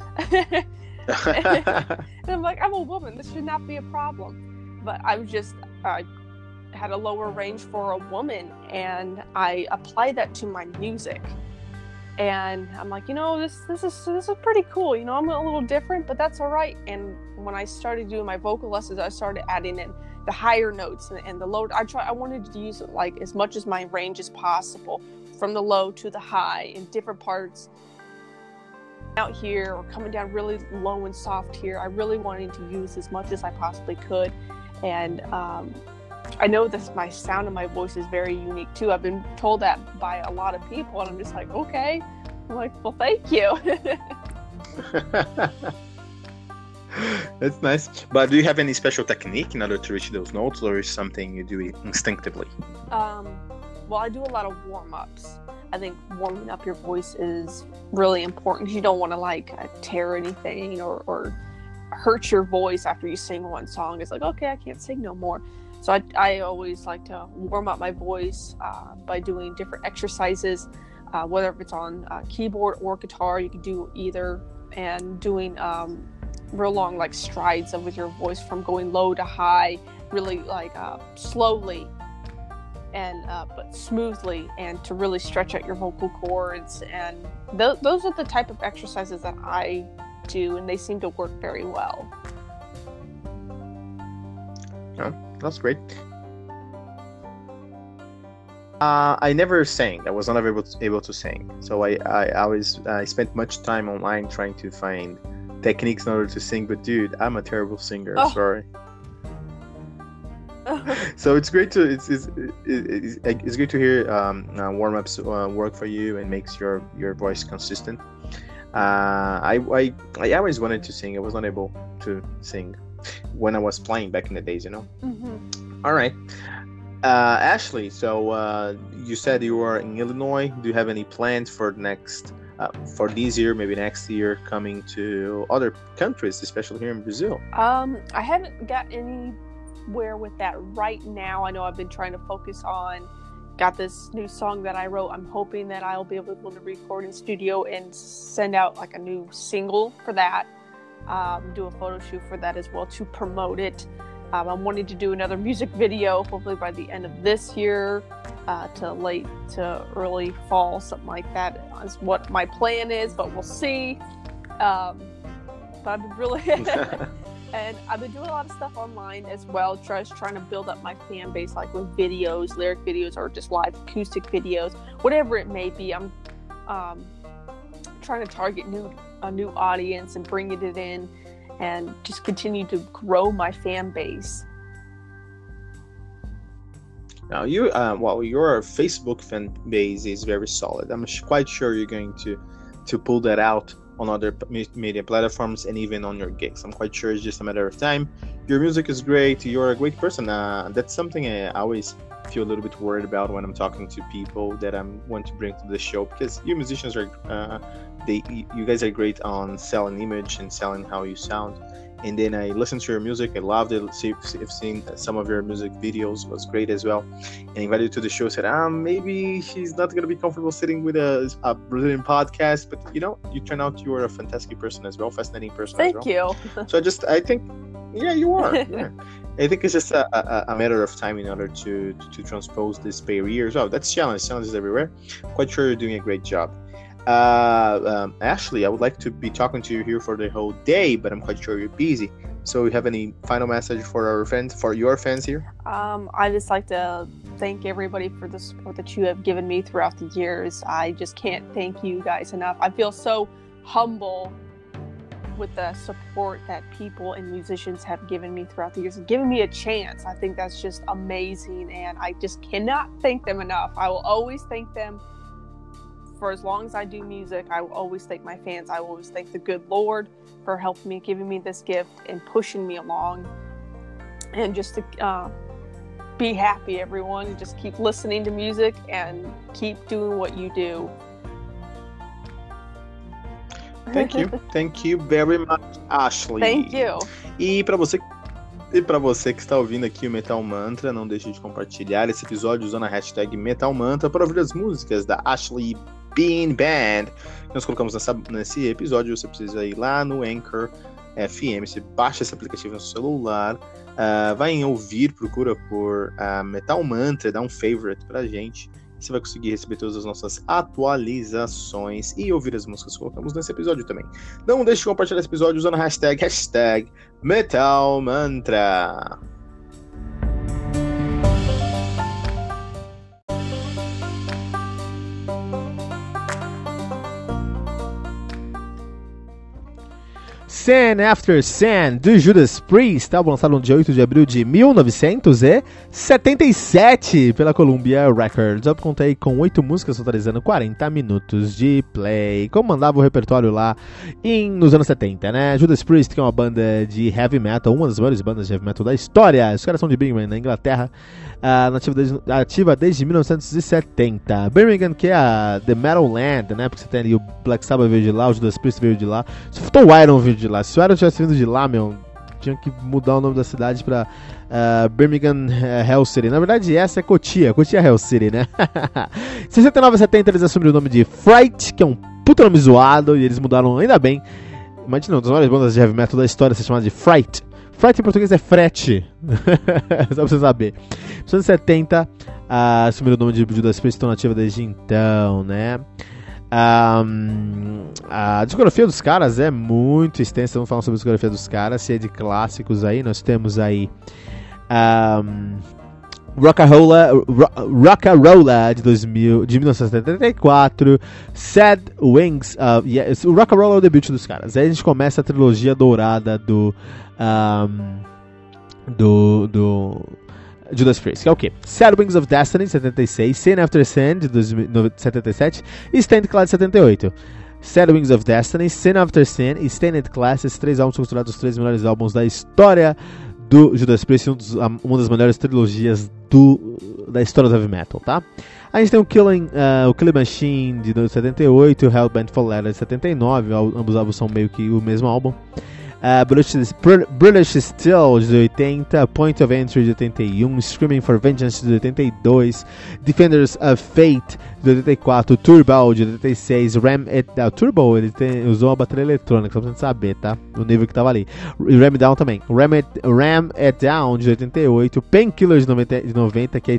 And I'm like, I'm a woman, this should not be a problem. But I was just, I had a lower range for a woman, and I applied that to my music. And I'm like, you know, this this is this is pretty cool. You know, I'm a little different, but that's all right. And when I started doing my vocal lessons, I started adding in the higher notes and, and the low. I try. I wanted to use it like as much as my range as possible, from the low to the high in different parts. Out here or coming down really low and soft here, I really wanted to use as much as I possibly could. And um, I know that my sound and my voice is very unique too. I've been told that by a lot of people, and I'm just like, okay. I'm like, well, thank you. That's nice. But do you have any special technique in order to reach those notes, or is something you do instinctively? Um, well, I do a lot of warm-ups. I think warming up your voice is really important, because you don't want to like uh, tear anything or, or hurt your voice after you sing one song. It's like, okay, I can't sing no more. So I, I always like to warm up my voice uh, by doing different exercises, uh, whether if it's on uh, keyboard or guitar. You can do either, and doing um, real long like strides with your voice from going low to high, really like uh, slowly and uh, but smoothly, and to really stretch out your vocal cords. And th- those are the type of exercises that I do, and they seem to work very well. Oh, that's great. Uh, I never sang. I was not able to, able to sing. So I, I, I always I spent much time online trying to find techniques in order to sing. But dude, I'm a terrible singer. Oh. Sorry. So it's great to it's it's, it's, it's great to hear um, uh, warm ups uh, work for you and makes your, your voice consistent. Uh, I, I I always wanted to sing. I was not able to sing when I was playing back in the days, you know. Mm-hmm. All right, uh, Ashley. So uh, you said you were in Illinois. Do you have any plans for next uh, for this year, maybe next year, coming to other countries, especially here in Brazil? Um, I haven't got any. Where with that right now. I know I've been trying to focus on, got this new song that I wrote. I'm hoping that I'll be able to record in studio and send out like a new single for that, um, do a photo shoot for that as well to promote it. um, I'm wanting to do another music video hopefully by the end of this year, uh, to late to early fall, something like that is what my plan is, but we'll see. um, but I've been really And I've been doing a lot of stuff online as well, just trying to build up my fan base, like with videos, lyric videos, or just live acoustic videos, whatever it may be. I'm um, trying to target new a new audience and bringing it in, and just continue to grow my fan base. Now, you, uh, well, your Facebook fan base is very solid. I'm quite sure you're going to to pull that out on other media platforms and even on your gigs. I'm quite sure it's just a matter of time. Your music is great. You're a great person. Uh, that's something I always feel a little bit worried about when I'm talking to people that I want to bring to the show, because you musicians are, uh, they, you guys are great on selling image and selling how you sound. And then I listened to your music. I loved it. See, I've seen some of your music videos. It was great as well. And invited you to the show. Said, ah, maybe she's not gonna be comfortable sitting with a, a Brazilian podcast. But you know, you turn out you are a fantastic person as well, fascinating person Thank as well. you. So I just, I think, yeah, you are. Yeah. I think it's just a, a, a matter of time in order to, to, to transpose this barrier. So that's challenge. Challenges everywhere. Quite sure you're doing a great job. Uh, um, Ashley, I would like to be talking to you here for the whole day, but I'm quite sure you're busy. So you have any final message for our fans, for your fans here? Um, I just like to thank everybody for the support that you have given me throughout the years. I just can't thank you guys enough. I feel so humble with the support that people and musicians have given me throughout the years and given me a chance. I think that's just amazing, and I just cannot thank them enough. I will always thank them. For as long as I do music, I will always thank my fans. I will always thank the good Lord for helping me, giving me this gift, and pushing me along. And just to uh, be happy, everyone. Just keep listening to music and keep doing what you do. Thank you. Thank you very much, Ashley. Thank you. E para você E para você que está ouvindo aqui o Metal Mantra, não deixe de compartilhar esse episódio usando a hashtag Metal Mantra para ouvir as músicas da Ashley Bean Band que nós colocamos nessa, nesse episódio. Você precisa ir lá no Anchor F M, você baixa esse aplicativo no seu celular, uh, vai em ouvir, procura por uh, Metal Mantra, dá um favorite pra gente. Você vai conseguir receber todas as nossas atualizações e ouvir as músicas que colocamos nesse episódio também. Não deixe de compartilhar esse episódio usando a hashtag, hashtag Metal Mantra. Sin After Sin, do Judas Priest, álbum lançado no dia oito de abril de mil novecentos e setenta e sete pela Columbia Records. Eu contei com oito músicas, totalizando quarenta minutos de play, como mandava o repertório lá em, nos anos setenta, né? Judas Priest, que é uma banda de heavy metal, uma das maiores bandas de heavy metal da história. Os caras são de Birmingham, na Inglaterra, uh, ativa, desde, ativa desde mil novecentos e setenta. Birmingham, que é a The Metal Land, né? Porque você tem ali o Black Sabbath veio de lá, o Judas Priest veio de lá, o Iron veio de lá. Se o Iron tivesse vindo de lá, meu, tinha que mudar o nome da cidade pra uh, Birmingham uh, Hell City. Na verdade, essa é Cotia, Cotia Hell City, né? Em sessenta e nove e setenta eles assumiram o nome de Fright, que é um puta nome zoado, e eles mudaram, ainda bem. Imagina, uma das maiores bandas de heavy metal da história ser chamada de Fright. Fright em português é frete, só pra você saber. Em mil novecentos e setenta uh, assumiram o nome de Judas Priest, estão nativa desde então, né? Um, a discografia dos caras é muito extensa. Vamos falar sobre a discografia dos caras, cheia de clássicos aí. Nós temos aí um, Rock'n'Rolla Rock'n'Rolla de, dois mil, de mil novecentos e setenta e quatro, Sad Wings of, yeah, o Rock'n'Rolla é o debut dos caras. Aí a gente começa a trilogia dourada do um, do, do Judas Priest, que é o quê? Sad Wings of Destiny, de setenta e seis, Sin After Sin, de setenta e sete e Stained Class, de setenta e oito. Sad Wings of Destiny, Sin After Sin e Stained Class, esses três álbuns são considerados os três melhores álbuns da história do Judas Priest, um dos, uma das melhores trilogias do, da história do heavy metal, tá? A gente tem o Killing, uh, o Killing Machine, de setenta e oito, e o Hellbent for Leather, de setenta e nove, ambos álbuns são meio que o mesmo álbum. Uh, British, British Steel, de oitenta, Point of Entry, de oitenta e um, Screaming for Vengeance, de oitenta e dois, Defenders of Fate, de oitenta e quatro, Turbo, de oitenta e seis, Ram It Down. Turbo, ele tem, usou uma bateria eletrônica, só pra gente saber, tá? O nível que tava ali. E Ram It Down também. Ram It, Ram It Down, de oitenta e oito, Painkiller, de noventa, de noventa, que aí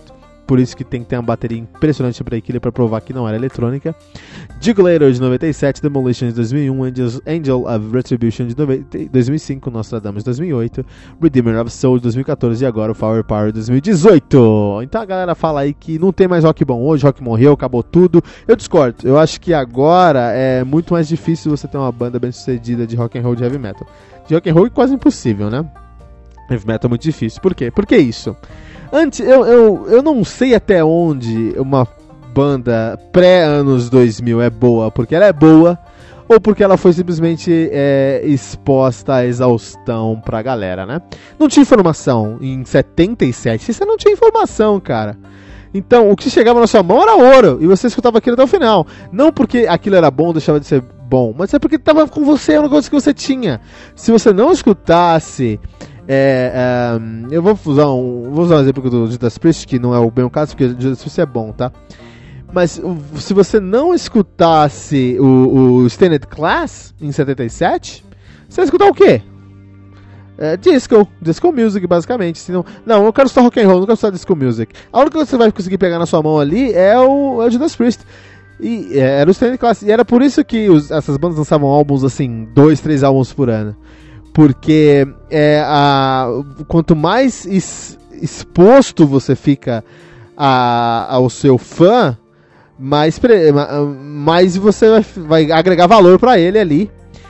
por isso que tem que ter uma bateria impressionante para Killer para provar que não era eletrônica. Jugulator de noventa e sete, Demolition de dois mil e um, Angels, Angel of Retribution de dois mil e cinco, Nostradamus de dois mil e oito, Redeemer of Soul de dois mil e quatorze e agora o Flower Power de dois mil e dezoito. Então a galera fala aí que não tem mais rock bom hoje, rock morreu, acabou tudo. Eu discordo, eu acho que agora é muito mais difícil você ter uma banda bem sucedida de rock and roll, de heavy metal. De rock and roll é quase impossível, né? Heavy metal é muito difícil. Por quê? Por que isso? Antes, eu, eu, eu não sei até onde uma banda pré-anos dois mil é boa porque ela é boa ou porque ela foi simplesmente é, exposta à exaustão pra galera, né? Não tinha informação em setenta e sete, você não tinha informação, cara. Então, o que chegava na sua mão era ouro e você escutava aquilo até o final. Não porque aquilo era bom ou deixava de ser bom, mas é porque estava com você, é uma coisa que você tinha. Se você não escutasse... É, é, eu vou usar, um, vou usar um exemplo do Judas Priest, que não é o bem o caso, porque o Judas Priest é bom, tá? Mas se você não escutasse o, o Stained Class em setenta e sete, você ia escutar o quê? É, disco, disco music, basicamente. Senão, não, eu quero escutar rock and roll, não quero escutar disco music. A única coisa que você vai conseguir pegar na sua mão ali é o, é o Judas Priest. E é, era o Stained Class. E era por isso que os, essas bandas lançavam álbuns assim, dois, três álbuns por ano. Porque é, a, quanto mais es, exposto você fica a, ao seu fã, mais, pre, mais você vai, vai agregar valor para ele ali,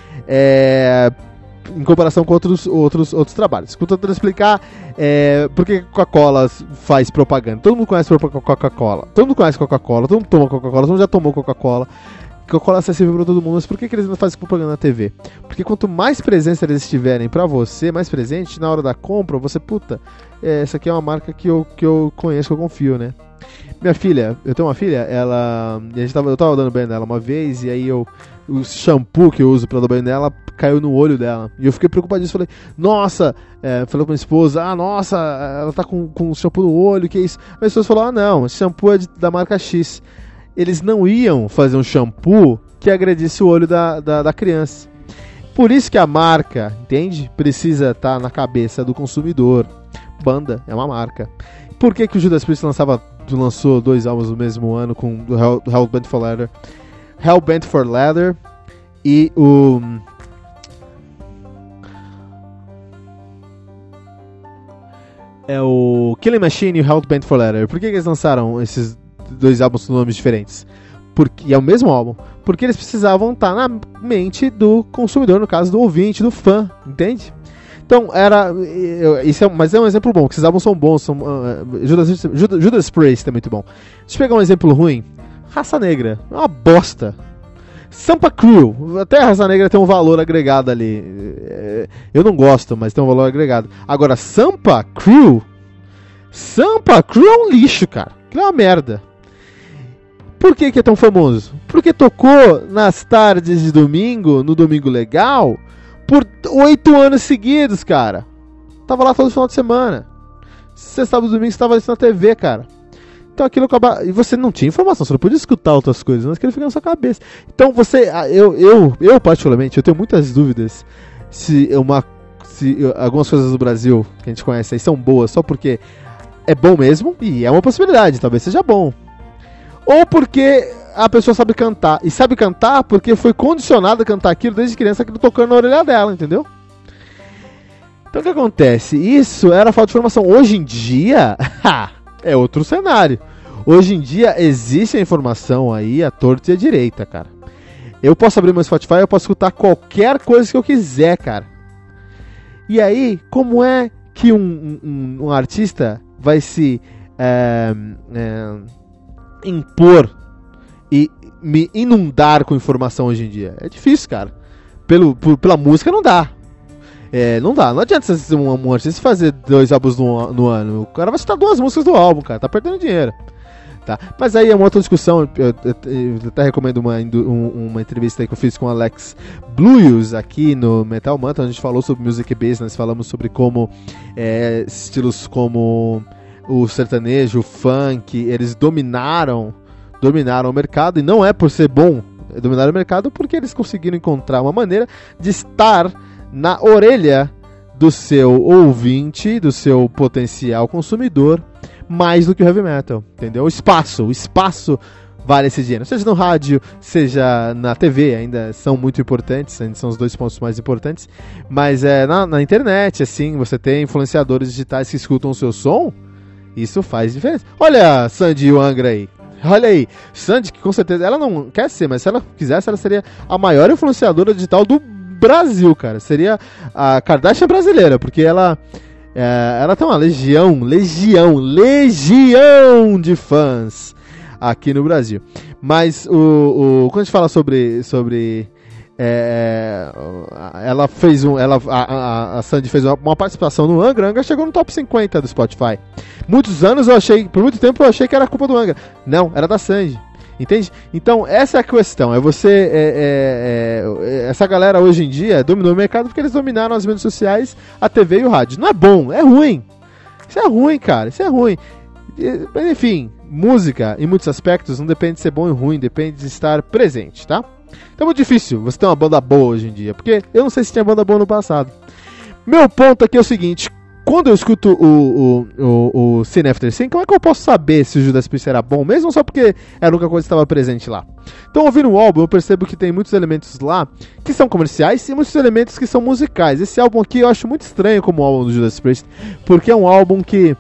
é, em comparação com outros, outros, outros trabalhos. Escuta eu explicar é, por que Coca-Cola faz propaganda. Todo mundo conhece Coca-Cola, todo mundo conhece Coca-Cola, todo mundo toma Coca-Cola, todo mundo já tomou Coca-Cola. Coca-Cola é acessível para todo mundo, mas por que, que eles não fazem propaganda na T V? Porque quanto mais presença eles tiverem para você, mais presente, na hora da compra, você, puta, é, essa aqui é uma marca que eu, que eu conheço, que eu confio, né? Minha filha, eu tenho uma filha, ela, a gente tava, eu tava dando banho nela uma vez, e aí eu, o shampoo que eu uso pra dar banho nela caiu no olho dela, e eu fiquei preocupadíssimo, falei, nossa, é, falei com minha esposa, ah, nossa, ela tá com, com shampoo no olho, que isso? A minha esposa falou, ah, não, esse shampoo é de, da marca X. Eles não iam fazer um shampoo que agredisse o olho da, da, da criança. Por isso que a marca, entende? Precisa estar na cabeça do consumidor. Banda é uma marca. Por que, que o Judas Priest lançava, lançou dois álbuns no mesmo ano com o Hell, Hellbent for Leather? Hellbent for Leather e o... É o Killing Machine e o Hellbent for Leather. Por que, que eles lançaram esses dois álbuns com nomes diferentes? Porque é o mesmo álbum. Porque eles precisavam estar na mente do consumidor, no caso do ouvinte, do fã, entende? Então era, isso é, mas é um exemplo bom, que esses álbuns são bons, são, uh, Judas, Judas, Judas Priest é muito bom. Deixa eu pegar um exemplo ruim. Raça Negra, é uma bosta. Sampa Crew, até a Raça Negra tem um valor agregado ali. Eu não gosto, mas tem um valor agregado. Agora, Sampa Crew, Sampa Crew é um lixo, cara. Aquilo é uma merda. Por que que é tão famoso? Porque tocou nas tardes de domingo, no Domingo Legal, por oito anos seguidos, cara. Tava lá todo final de semana. Sexta, sábado e domingo estava isso na T V, cara. Então aquilo acaba... E você não tinha informação, você não podia escutar outras coisas, mas aquilo fica na sua cabeça. Então você... Eu, eu, eu particularmente, eu tenho muitas dúvidas se, uma, se algumas coisas do Brasil que a gente conhece aí são boas só porque é bom mesmo, e é uma possibilidade, talvez seja bom. Ou porque a pessoa sabe cantar. E sabe cantar porque foi condicionada a cantar aquilo desde criança, aquilo tocando na orelha dela, entendeu? Então o que acontece? Isso era falta de informação. Hoje em dia, é outro cenário. Hoje em dia existe a informação aí, a torta e a direita, cara. Eu posso abrir meu Spotify, eu posso escutar qualquer coisa que eu quiser, cara. E aí, como é que um, um, um artista vai se é, é, impor e me inundar com informação hoje em dia? É difícil, cara. Pelo, por, pela música não dá. É, não dá, não adianta você ser um, um artista fazer dois álbuns no, no ano. O cara vai citar duas músicas do álbum, cara, tá perdendo dinheiro. Tá? Mas aí é uma outra discussão. Eu, eu, eu até recomendo uma, um, uma entrevista aí que eu fiz com o Alex Blues aqui no Metal Mantra. A gente falou sobre music business, falamos sobre como é, estilos como o sertanejo, o funk, eles dominaram, dominaram o mercado, e não é por ser bom, dominaram o mercado porque eles conseguiram encontrar uma maneira de estar na orelha do seu ouvinte, do seu potencial consumidor, mais do que o heavy metal, entendeu? O espaço, o espaço vale esse dinheiro, seja no rádio, seja na T V, ainda são muito importantes, ainda são os dois pontos mais importantes, mas é, na, na internet, assim, você tem influenciadores digitais que escutam o seu som, isso faz diferença. Olha a Sandy Angra aí, olha aí, Sandy, que com certeza, ela não quer ser, mas se ela quisesse, ela seria a maior influenciadora digital do Brasil, cara, seria a Kardashian brasileira, porque ela... É, ela tem uma legião, legião, legião de fãs aqui no Brasil. Mas o, o quando a gente fala sobre, sobre é, ela fez um, ela, a, a, a Sandy fez uma, uma participação no Angra. Angra chegou no top cinquenta do Spotify. Muitos anos eu achei, por muito tempo eu achei que era culpa do Angra. Não, era da Sandy. Entende? Então essa é a questão, é você, é, é, é, essa galera hoje em dia dominou o mercado porque eles dominaram as mídias sociais, a T V e o rádio. Não é bom, é ruim. Isso é ruim, cara, isso é ruim. Mas enfim, música em muitos aspectos não depende de ser bom e ruim, depende de estar presente, tá? Então é muito difícil você ter uma banda boa hoje em dia, porque eu não sei se tinha banda boa no passado. Meu ponto aqui é o seguinte: quando eu escuto o, o, o, o Sin After Sin, como é que eu posso saber se o Judas Priest era bom, mesmo só porque era a única coisa que estava presente lá? Então, ouvindo o álbum, eu percebo que tem muitos elementos lá que são comerciais e muitos elementos que são musicais. Esse álbum aqui eu acho muito estranho como o álbum do Judas Priest, porque é um álbum que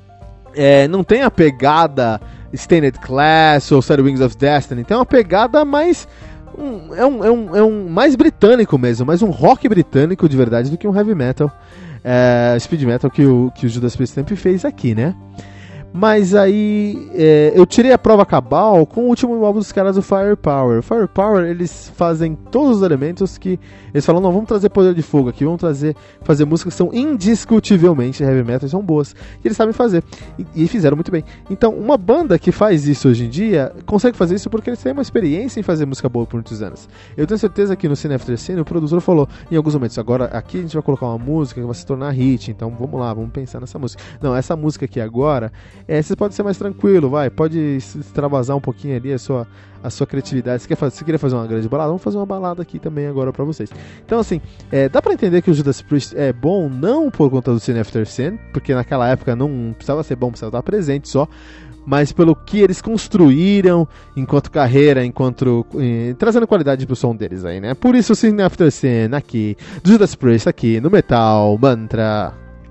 é, não tem a pegada Stained Class ou Sad Wings of Destiny, tem uma pegada mais... Um, é, um, é, um, é um mais britânico mesmo, mais um rock britânico de verdade do que um heavy metal. É, speed metal que o, que o Judas Priest sempre fez aqui, né? Mas aí é, eu tirei a prova cabal com o último álbum dos caras do Firepower. Firepower, eles fazem todos os elementos que eles falam: não, vamos trazer poder de fogo aqui, vamos trazer, fazer músicas que são indiscutivelmente heavy metal e são boas. E eles sabem fazer, e, e fizeram muito bem. Então, uma banda que faz isso hoje em dia consegue fazer isso porque eles têm uma experiência em fazer música boa por muitos anos. Eu tenho certeza que no Sin After Sin, o produtor falou em alguns momentos: agora aqui a gente vai colocar uma música que vai se tornar hit, então vamos lá, vamos pensar nessa música. Não, essa música aqui agora, é, você pode ser mais tranquilo, vai, pode extravasar um pouquinho ali a sua, a sua criatividade. Você, quer fazer, você queria fazer uma grande balada? Vamos fazer uma balada aqui também agora pra vocês. Então assim, é, dá pra entender que o Judas Priest é bom não por conta do Sin After Sin, porque naquela época não precisava ser bom, precisava estar presente só, mas pelo que eles construíram enquanto carreira, enquanto eh, trazendo qualidade pro som deles aí, né? Por isso o Sin After Sin aqui, do Judas Priest aqui no Metal Mantra.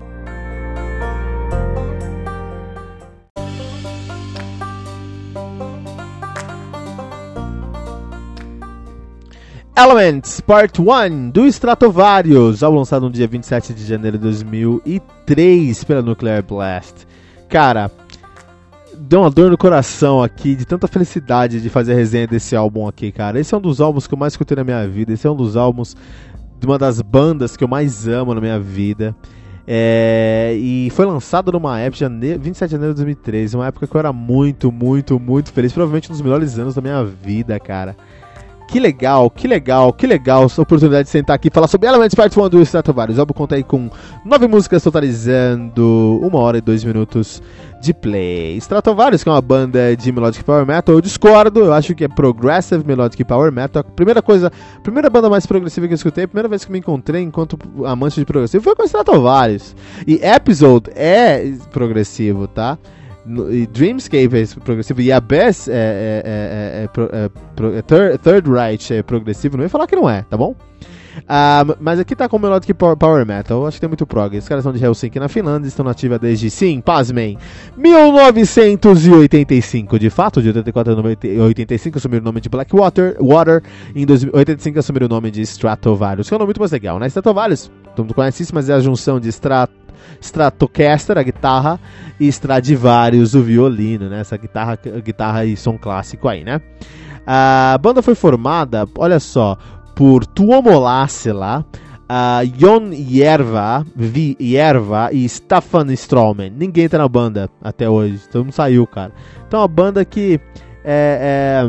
Elements Part um do Stratovarius, álbum lançado no dia vinte e sete de janeiro de dois mil e três pela Nuclear Blast. Cara, deu uma dor no coração aqui, de tanta felicidade de fazer a resenha desse álbum aqui, cara. Esse é um dos álbuns que eu mais escutei na minha vida, esse é um dos álbuns de uma das bandas que eu mais amo na minha vida. É, e foi lançado numa época, jane... vinte e sete de janeiro de dois mil e três, uma época que eu era muito, muito, muito feliz, provavelmente um dos melhores anos da minha vida, cara. Que legal, que legal, que legal essa oportunidade de sentar aqui e falar sobre Elements Part um do Stratovarius. O álbum conta aí com nove músicas, totalizando uma hora e dois minutos de play. Stratovarius, que é uma banda de Melodic Power Metal, eu discordo, eu acho que é Progressive Melodic Power Metal. Primeira coisa, primeira banda mais progressiva que eu escutei, a primeira vez que me encontrei enquanto amante de progressivo foi com Stratovarius. E Episode é progressivo, tá? E Dreamscape é progressivo, e Abyss é, é, é, é, é, é third, third Reich é progressivo, não ia falar que não é, tá bom? Uh, mas aqui tá com Melodic Power, Power Metal, eu acho que tem muito prog. Os caras são de Helsinki, na Finlândia, estão nativa desde, sim, pasmem, mil novecentos e oitenta e cinco. De fato, de oitenta e quatro a oitenta e cinco assumiram o nome de Blackwater, Water, em oitenta e cinco assumiram o nome de Stratovarius, que é um nome muito mais legal, né? Stratovarius, todo mundo conhece isso, mas é a junção de Strat Stratocaster, a guitarra, e Stradivarius, o violino, né? Essa guitarra, guitarra e som clássico aí, né? A banda foi formada, olha só, por Tuomo Lassila, uh, Jon Järva, Vi Järva e Staffan Stroman. Ninguém tá na banda até hoje, todo mundo saiu, cara. Então, a banda que é,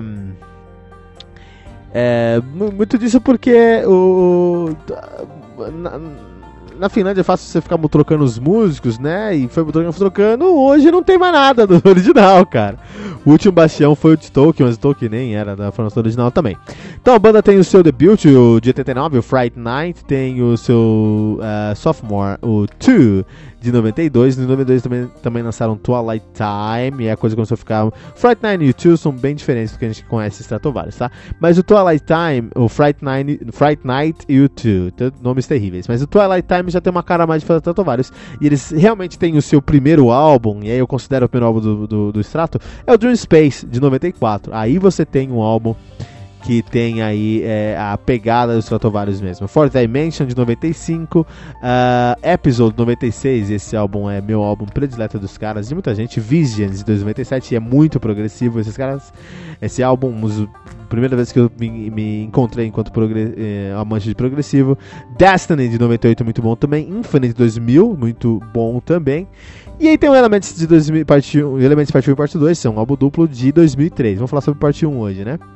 é, é muito disso porque o na, na Finlândia é fácil você ficar trocando os músicos, né? E foi trocando, trocando. Hoje não tem mais nada do original, cara. O último bastião foi o de Tolkien, mas o Tolkien nem era da formação original também. Então a banda tem o seu debut, o de oitenta e nove, o Fright Night. Tem o seu uh, sophomore, o Two, de noventa e dois. Em noventa e dois também, também lançaram Twilight Time, e a coisa começou a ficar... Fright Night e U dois são bem diferentes do que a gente conhece Stratovarius, tá? Mas o Twilight Time, o Fright Night, Fright Night e U dois, nomes terríveis, mas o Twilight Time já tem uma cara mais de Stratovarius, e eles realmente têm o seu primeiro álbum, e aí eu considero o primeiro álbum do, do, do Strato, é o Dream Space, de noventa e quatro. Aí você tem um álbum que tem aí é, a pegada dos Stratovarius mesmo. Fourth Dimension, de noventa e cinco, uh, Episode, noventa e seis, esse álbum é meu álbum predileto dos caras, de muita gente. Visions, de noventa e sete, é muito progressivo, esses caras, esse álbum, a primeira vez que eu me, me encontrei enquanto progre, eh, amante de progressivo. Destiny, de noventa e oito, muito bom também. Infinite, dois mil, muito bom também. E aí tem o Elements de dois mil, parte um, Elements parte um e parte dois, são um álbum duplo de dois mil e três. Vamos falar sobre parte um hoje, né?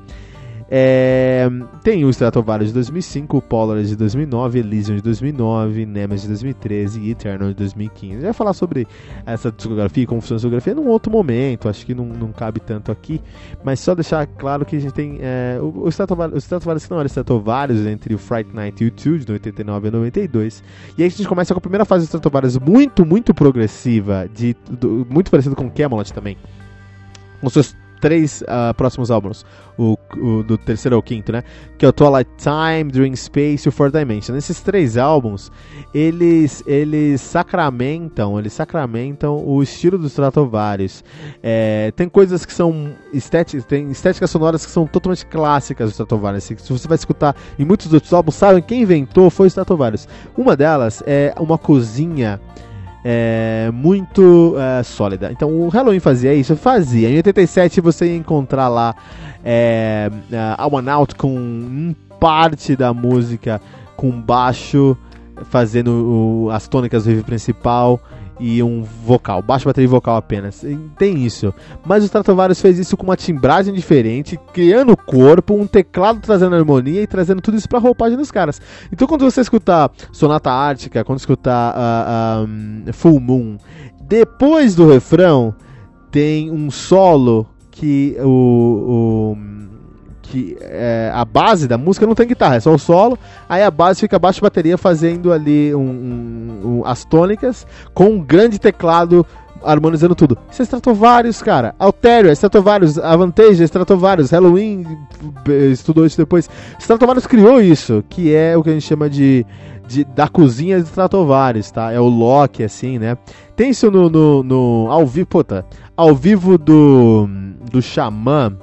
É, tem o Stratovarius de dois mil e cinco, o Polaris de dois mil e nove, Elysium de dois mil e nove, Nemesis de dois mil e treze e Eternal de dois mil e quinze. A gente vai falar sobre essa discografia, como funciona a discografia num outro momento, acho que não, não cabe tanto aqui, mas só deixar claro que a gente tem é, o, o Stratovarius, o Stratovarius que não era Stratovarius, entre o Fright Night e o U dois, de oitenta e nove a noventa e dois, e aí a gente começa com a primeira fase do Stratovarius muito, muito progressiva, de, do, muito parecido com Camelot também, com seus três uh, próximos álbuns, o, o do terceiro ao quinto, né? Que é o Twilight Time, Dream Space e o Fourth Dimension. Esses três álbuns, eles, eles sacramentam, eles sacramentam o estilo dos Stratovarius. É, tem coisas que são estéticas, tem estéticas sonoras que são totalmente clássicas do Stratovarius. Se você vai escutar em muitos outros álbuns, sabem quem inventou foi o Stratovarius. Uma delas é uma cozinha É, muito é, sólida. Então o Halloween fazia isso, fazia. Em oitenta e sete você ia encontrar lá é, a One Out com um parte da música com baixo fazendo o, as tônicas do riff principal e um vocal, baixo, bateria e vocal apenas. Tem isso. Mas o Stratovarius fez isso com uma timbragem diferente, criando o corpo, um teclado trazendo harmonia e trazendo tudo isso pra roupagem dos caras. Então quando você escutar Sonata Ártica, quando escutar uh, um, Full Moon, depois do refrão tem um solo que o... o que é, a base da música não tem guitarra, é só o solo, aí a base fica baixo de bateria fazendo ali um, um, um, as tônicas com um grande teclado harmonizando tudo. Isso é Stratovarius, cara. Alterio é Stratovarius, Avantage é Stratovarius, Halloween estudou isso depois. Stratovarius criou isso, que é o que a gente chama de, de da cozinha de Stratovarius, tá? É o Loki, assim, né? Tem isso no, no, no ao vivo, puta, ao vivo do do Xamã.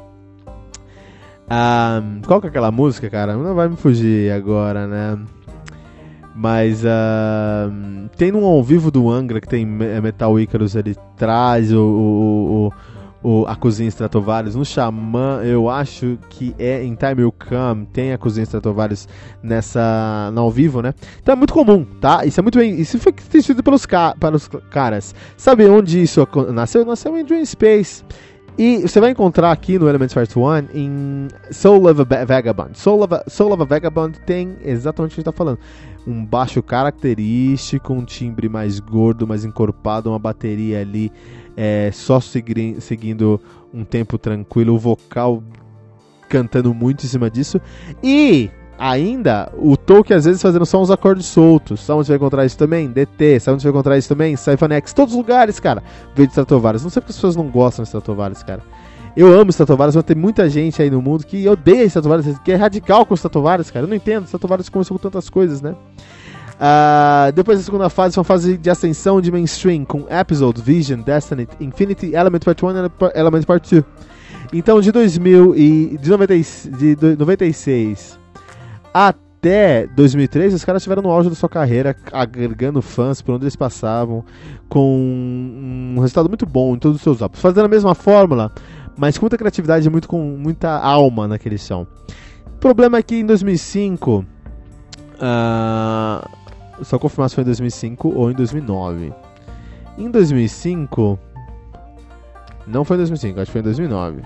Ah, qual que é aquela música, cara? Não vai me fugir agora, né? Mas ah, tem um ao vivo do Angra que tem Metal Icarus, ele traz o, o, o, o, a cozinha Stratovarius. No Xamã, eu acho que é em Time Will Come, tem a cozinha Stratovarius nessa, no ao vivo, né? Então é muito comum, tá? Isso é muito bem, isso foi sido pelos ca, para os caras. Sabe onde isso nasceu? Nasceu em Dream Space. E você vai encontrar aqui no Elements Part um em Soul of a Vagabond. Soul of a, Soul of a Vagabond tem exatamente o que a gente está falando. Um baixo característico, um timbre mais gordo, mais encorpado, uma bateria ali é, só segui- seguindo um tempo tranquilo, o vocal cantando muito em cima disso. E ainda o Tolkien às vezes fazendo só uns acordes soltos. Sabe onde você vai encontrar isso também? D T. Sabe onde você vai encontrar isso também? Symphony-X. Todos os lugares, cara, veio de Stratovarius. Não sei porque as pessoas não gostam de Stratovarius, cara. Eu amo Stratovarius, mas tem muita gente aí no mundo que odeia Stratovarius, que é radical com Stratovarius, cara. Eu não entendo. Stratovarius começou com tantas coisas, né? Uh, depois da segunda fase, foi uma fase de ascensão de mainstream com Episode, Vision, Destiny, Infinity, Element Part um e Element Part dois. Então de dois mil e de noventa, de noventa e seis até dois mil e três, os caras estiveram no auge da sua carreira, agregando fãs por onde eles passavam, com um resultado muito bom em todos os seus álbuns, fazendo a mesma fórmula, mas com muita criatividade e muito, com muita alma naquele som. O problema é que em dois mil e cinco, uh, só confirmar se foi em dois mil e cinco ou em dois mil e nove. Em dois mil e cinco, não foi em dois mil e cinco, acho que foi em dois mil e nove.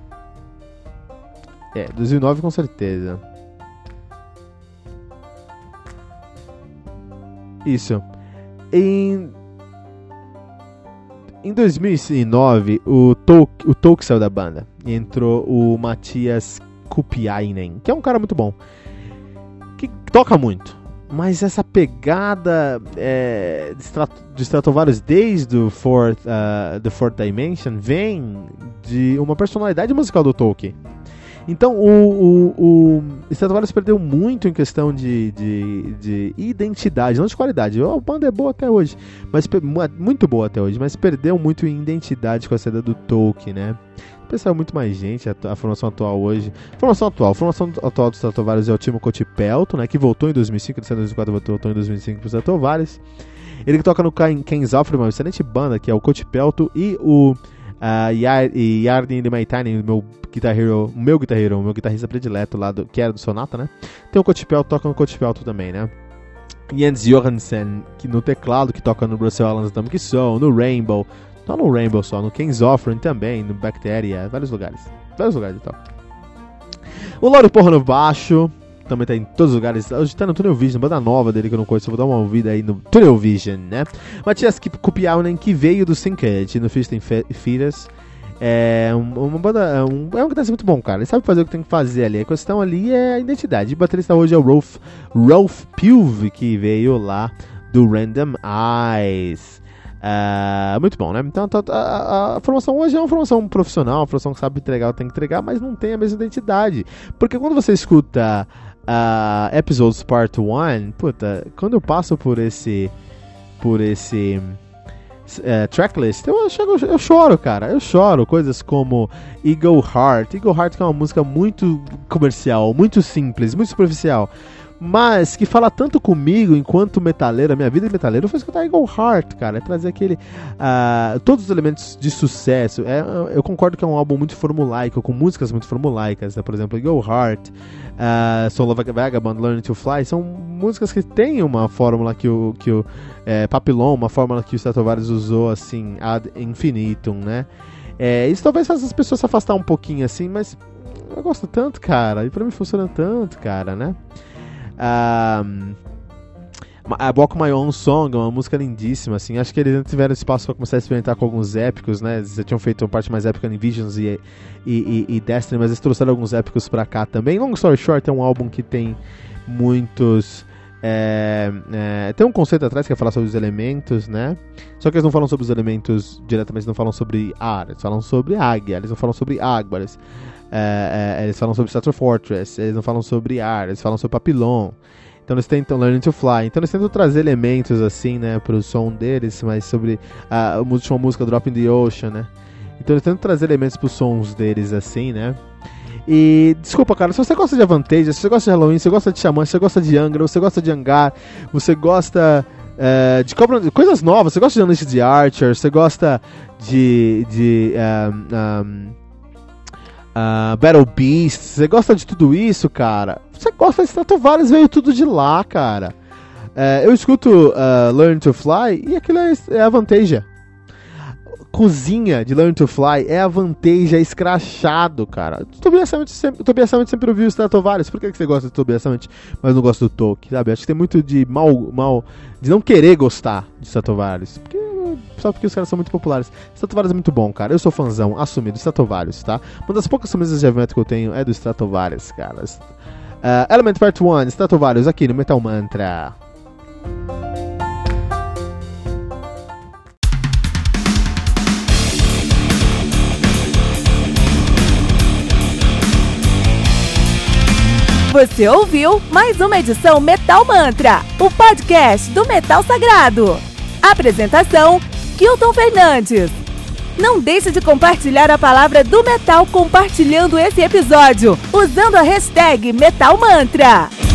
É, dois mil e nove com certeza. Isso. Em, em dois mil e nove, o Tolk, o Tolk saiu da banda. E entrou o Matias Kupiainen, que é um cara muito bom. Que toca muito. mas essa pegada é, de, Strat- de Stratovarius desde o Fourth, uh, The Fourth Dimension vem de uma personalidade musical do Tolkien. Então o, o, o Stratovarius perdeu muito em questão de, de, de identidade, não de qualidade. A banda é boa até hoje, mas muito boa até hoje, mas perdeu muito em identidade com a saída do Tolkien, né? Pensava muito mais gente, a, a formação atual hoje. Formação atual, a formação atual do Stratovarius é o Timo Kotipelto, né? Que voltou em dois mil e cinco, ele saiu em dois mil e quatro, voltou em dois mil e cinco pro Stratovarius. Ele que toca no Ken Zoffer, uma excelente banda, que é o Kotipelto e o Uh, Yarden Limaitainen, o meu Guitar Hero, o meu Guitar Hero, o meu guitarrista predileto lá, do, que era do Sonata, né? Tem o Kotipelto, toca no Kotipelto também, né? Jens Johansen, que no teclado, que toca no Russell Allen's Atomic Soul, no Rainbow, não no Rainbow só, no Ken Zoffer também, no Bacteria, vários lugares, vários lugares e tal. O Lauro Porra no baixo, também tá em todos os lugares. Hoje tá no Tunnel Vision, banda nova dele que eu não conheço. Eu vou dar uma ouvida aí no Tunnel Vision, né? Matias Kupiaunen, que veio do Syncade no Fist and Fetus. É uma banda. Um, é um guitarrista muito bom, cara. Ele sabe fazer o que tem que fazer ali. A questão ali é a identidade. O baterista hoje é o Rolf, Rolf Pilv, que veio lá do Random Eyes. Uh, muito bom, né? Então a, a, a formação hoje é uma formação profissional, uma formação que sabe entregar o que tem que entregar, mas não tem a mesma identidade. Porque quando você escuta Uh, Episodes Part um, puta, quando eu passo por esse por esse uh, tracklist, eu, chego, eu choro, cara, eu choro, coisas como Eagle Heart, Eagle Heart que é uma música muito comercial, muito simples, muito superficial, mas que fala tanto comigo enquanto metaleiro, a minha vida de metaleiro foi escutar Eagle Heart, cara, é trazer aquele uh, todos os elementos de sucesso. É, eu concordo que é um álbum muito formulaico, com músicas muito formulaicas, né? Por exemplo, Eagle Heart, uh, Soul of a Vagabond, Learning to Fly, são músicas que têm uma fórmula que o, que o é, Papillon, uma fórmula que o Stratovarius usou assim ad infinitum, né? É, isso talvez faça as pessoas se afastar um pouquinho assim, mas eu gosto tanto, cara, e pra mim funciona tanto, cara, né? Um, a Walk My Own Song é uma música lindíssima, assim. Acho que eles tiveram espaço para começar a experimentar com alguns épicos, né? Eles já tinham feito uma parte mais épica em Visions e, e, e, e Destiny, mas eles trouxeram alguns épicos pra cá também. Long Story Short é um álbum que tem muitos... É, é, tem um conceito atrás que é falar sobre os elementos, né? Só que eles não falam sobre os elementos diretamente, eles não falam sobre ar, eles falam sobre águia, eles não falam sobre água, eles, é, é, eles falam sobre Strato Fortress, eles não falam sobre ar, eles falam sobre Papillon. Então eles tentam Learning to Fly, então eles tentam trazer elementos assim, né, pro som deles, mas sobre a última música Drop in the Ocean, né? Então eles tentam trazer elementos pros sons deles assim, né? E, desculpa, cara, se você gosta de Avantasia, se você gosta de Halloween, se você gosta de Xamã, se você gosta de Angra, você gosta de Angar, você gosta é, de cobra, coisas novas, você gosta de Unleashed the Archer, você gosta de, de um, um, uh, Battle Beast, você gosta de tudo isso, cara, você gosta de Stratovarius, veio tudo de lá, cara. É, eu escuto uh, Learn to Fly e aquilo é, é Avantasia. Cozinha de Learn to Fly é Avantasia escrachado, cara. O Tobias Sammet sempre, Tobias Sammet sempre ouviu o Stratovarius. Por que você gosta do Tobias Sammet, mas não gosta do Tolkien, sabe? Acho que tem muito de mal, mal de não querer gostar de Stratovarius. Porque, só porque os caras são muito populares. Stratovarius é muito bom, cara. Eu sou fãzão, assumido, Stratovarius, tá? Uma das poucas camisas de heavy metal que eu tenho é do Stratovarius, cara. Uh, Element Part um, Stratovarius, aqui no Metal Mantra. Você ouviu mais uma edição Metal Mantra, o podcast do Metal Sagrado. Apresentação, Kilton Fernandes. Não deixe de compartilhar a palavra do metal compartilhando esse episódio, usando a hashtag Metal Mantra.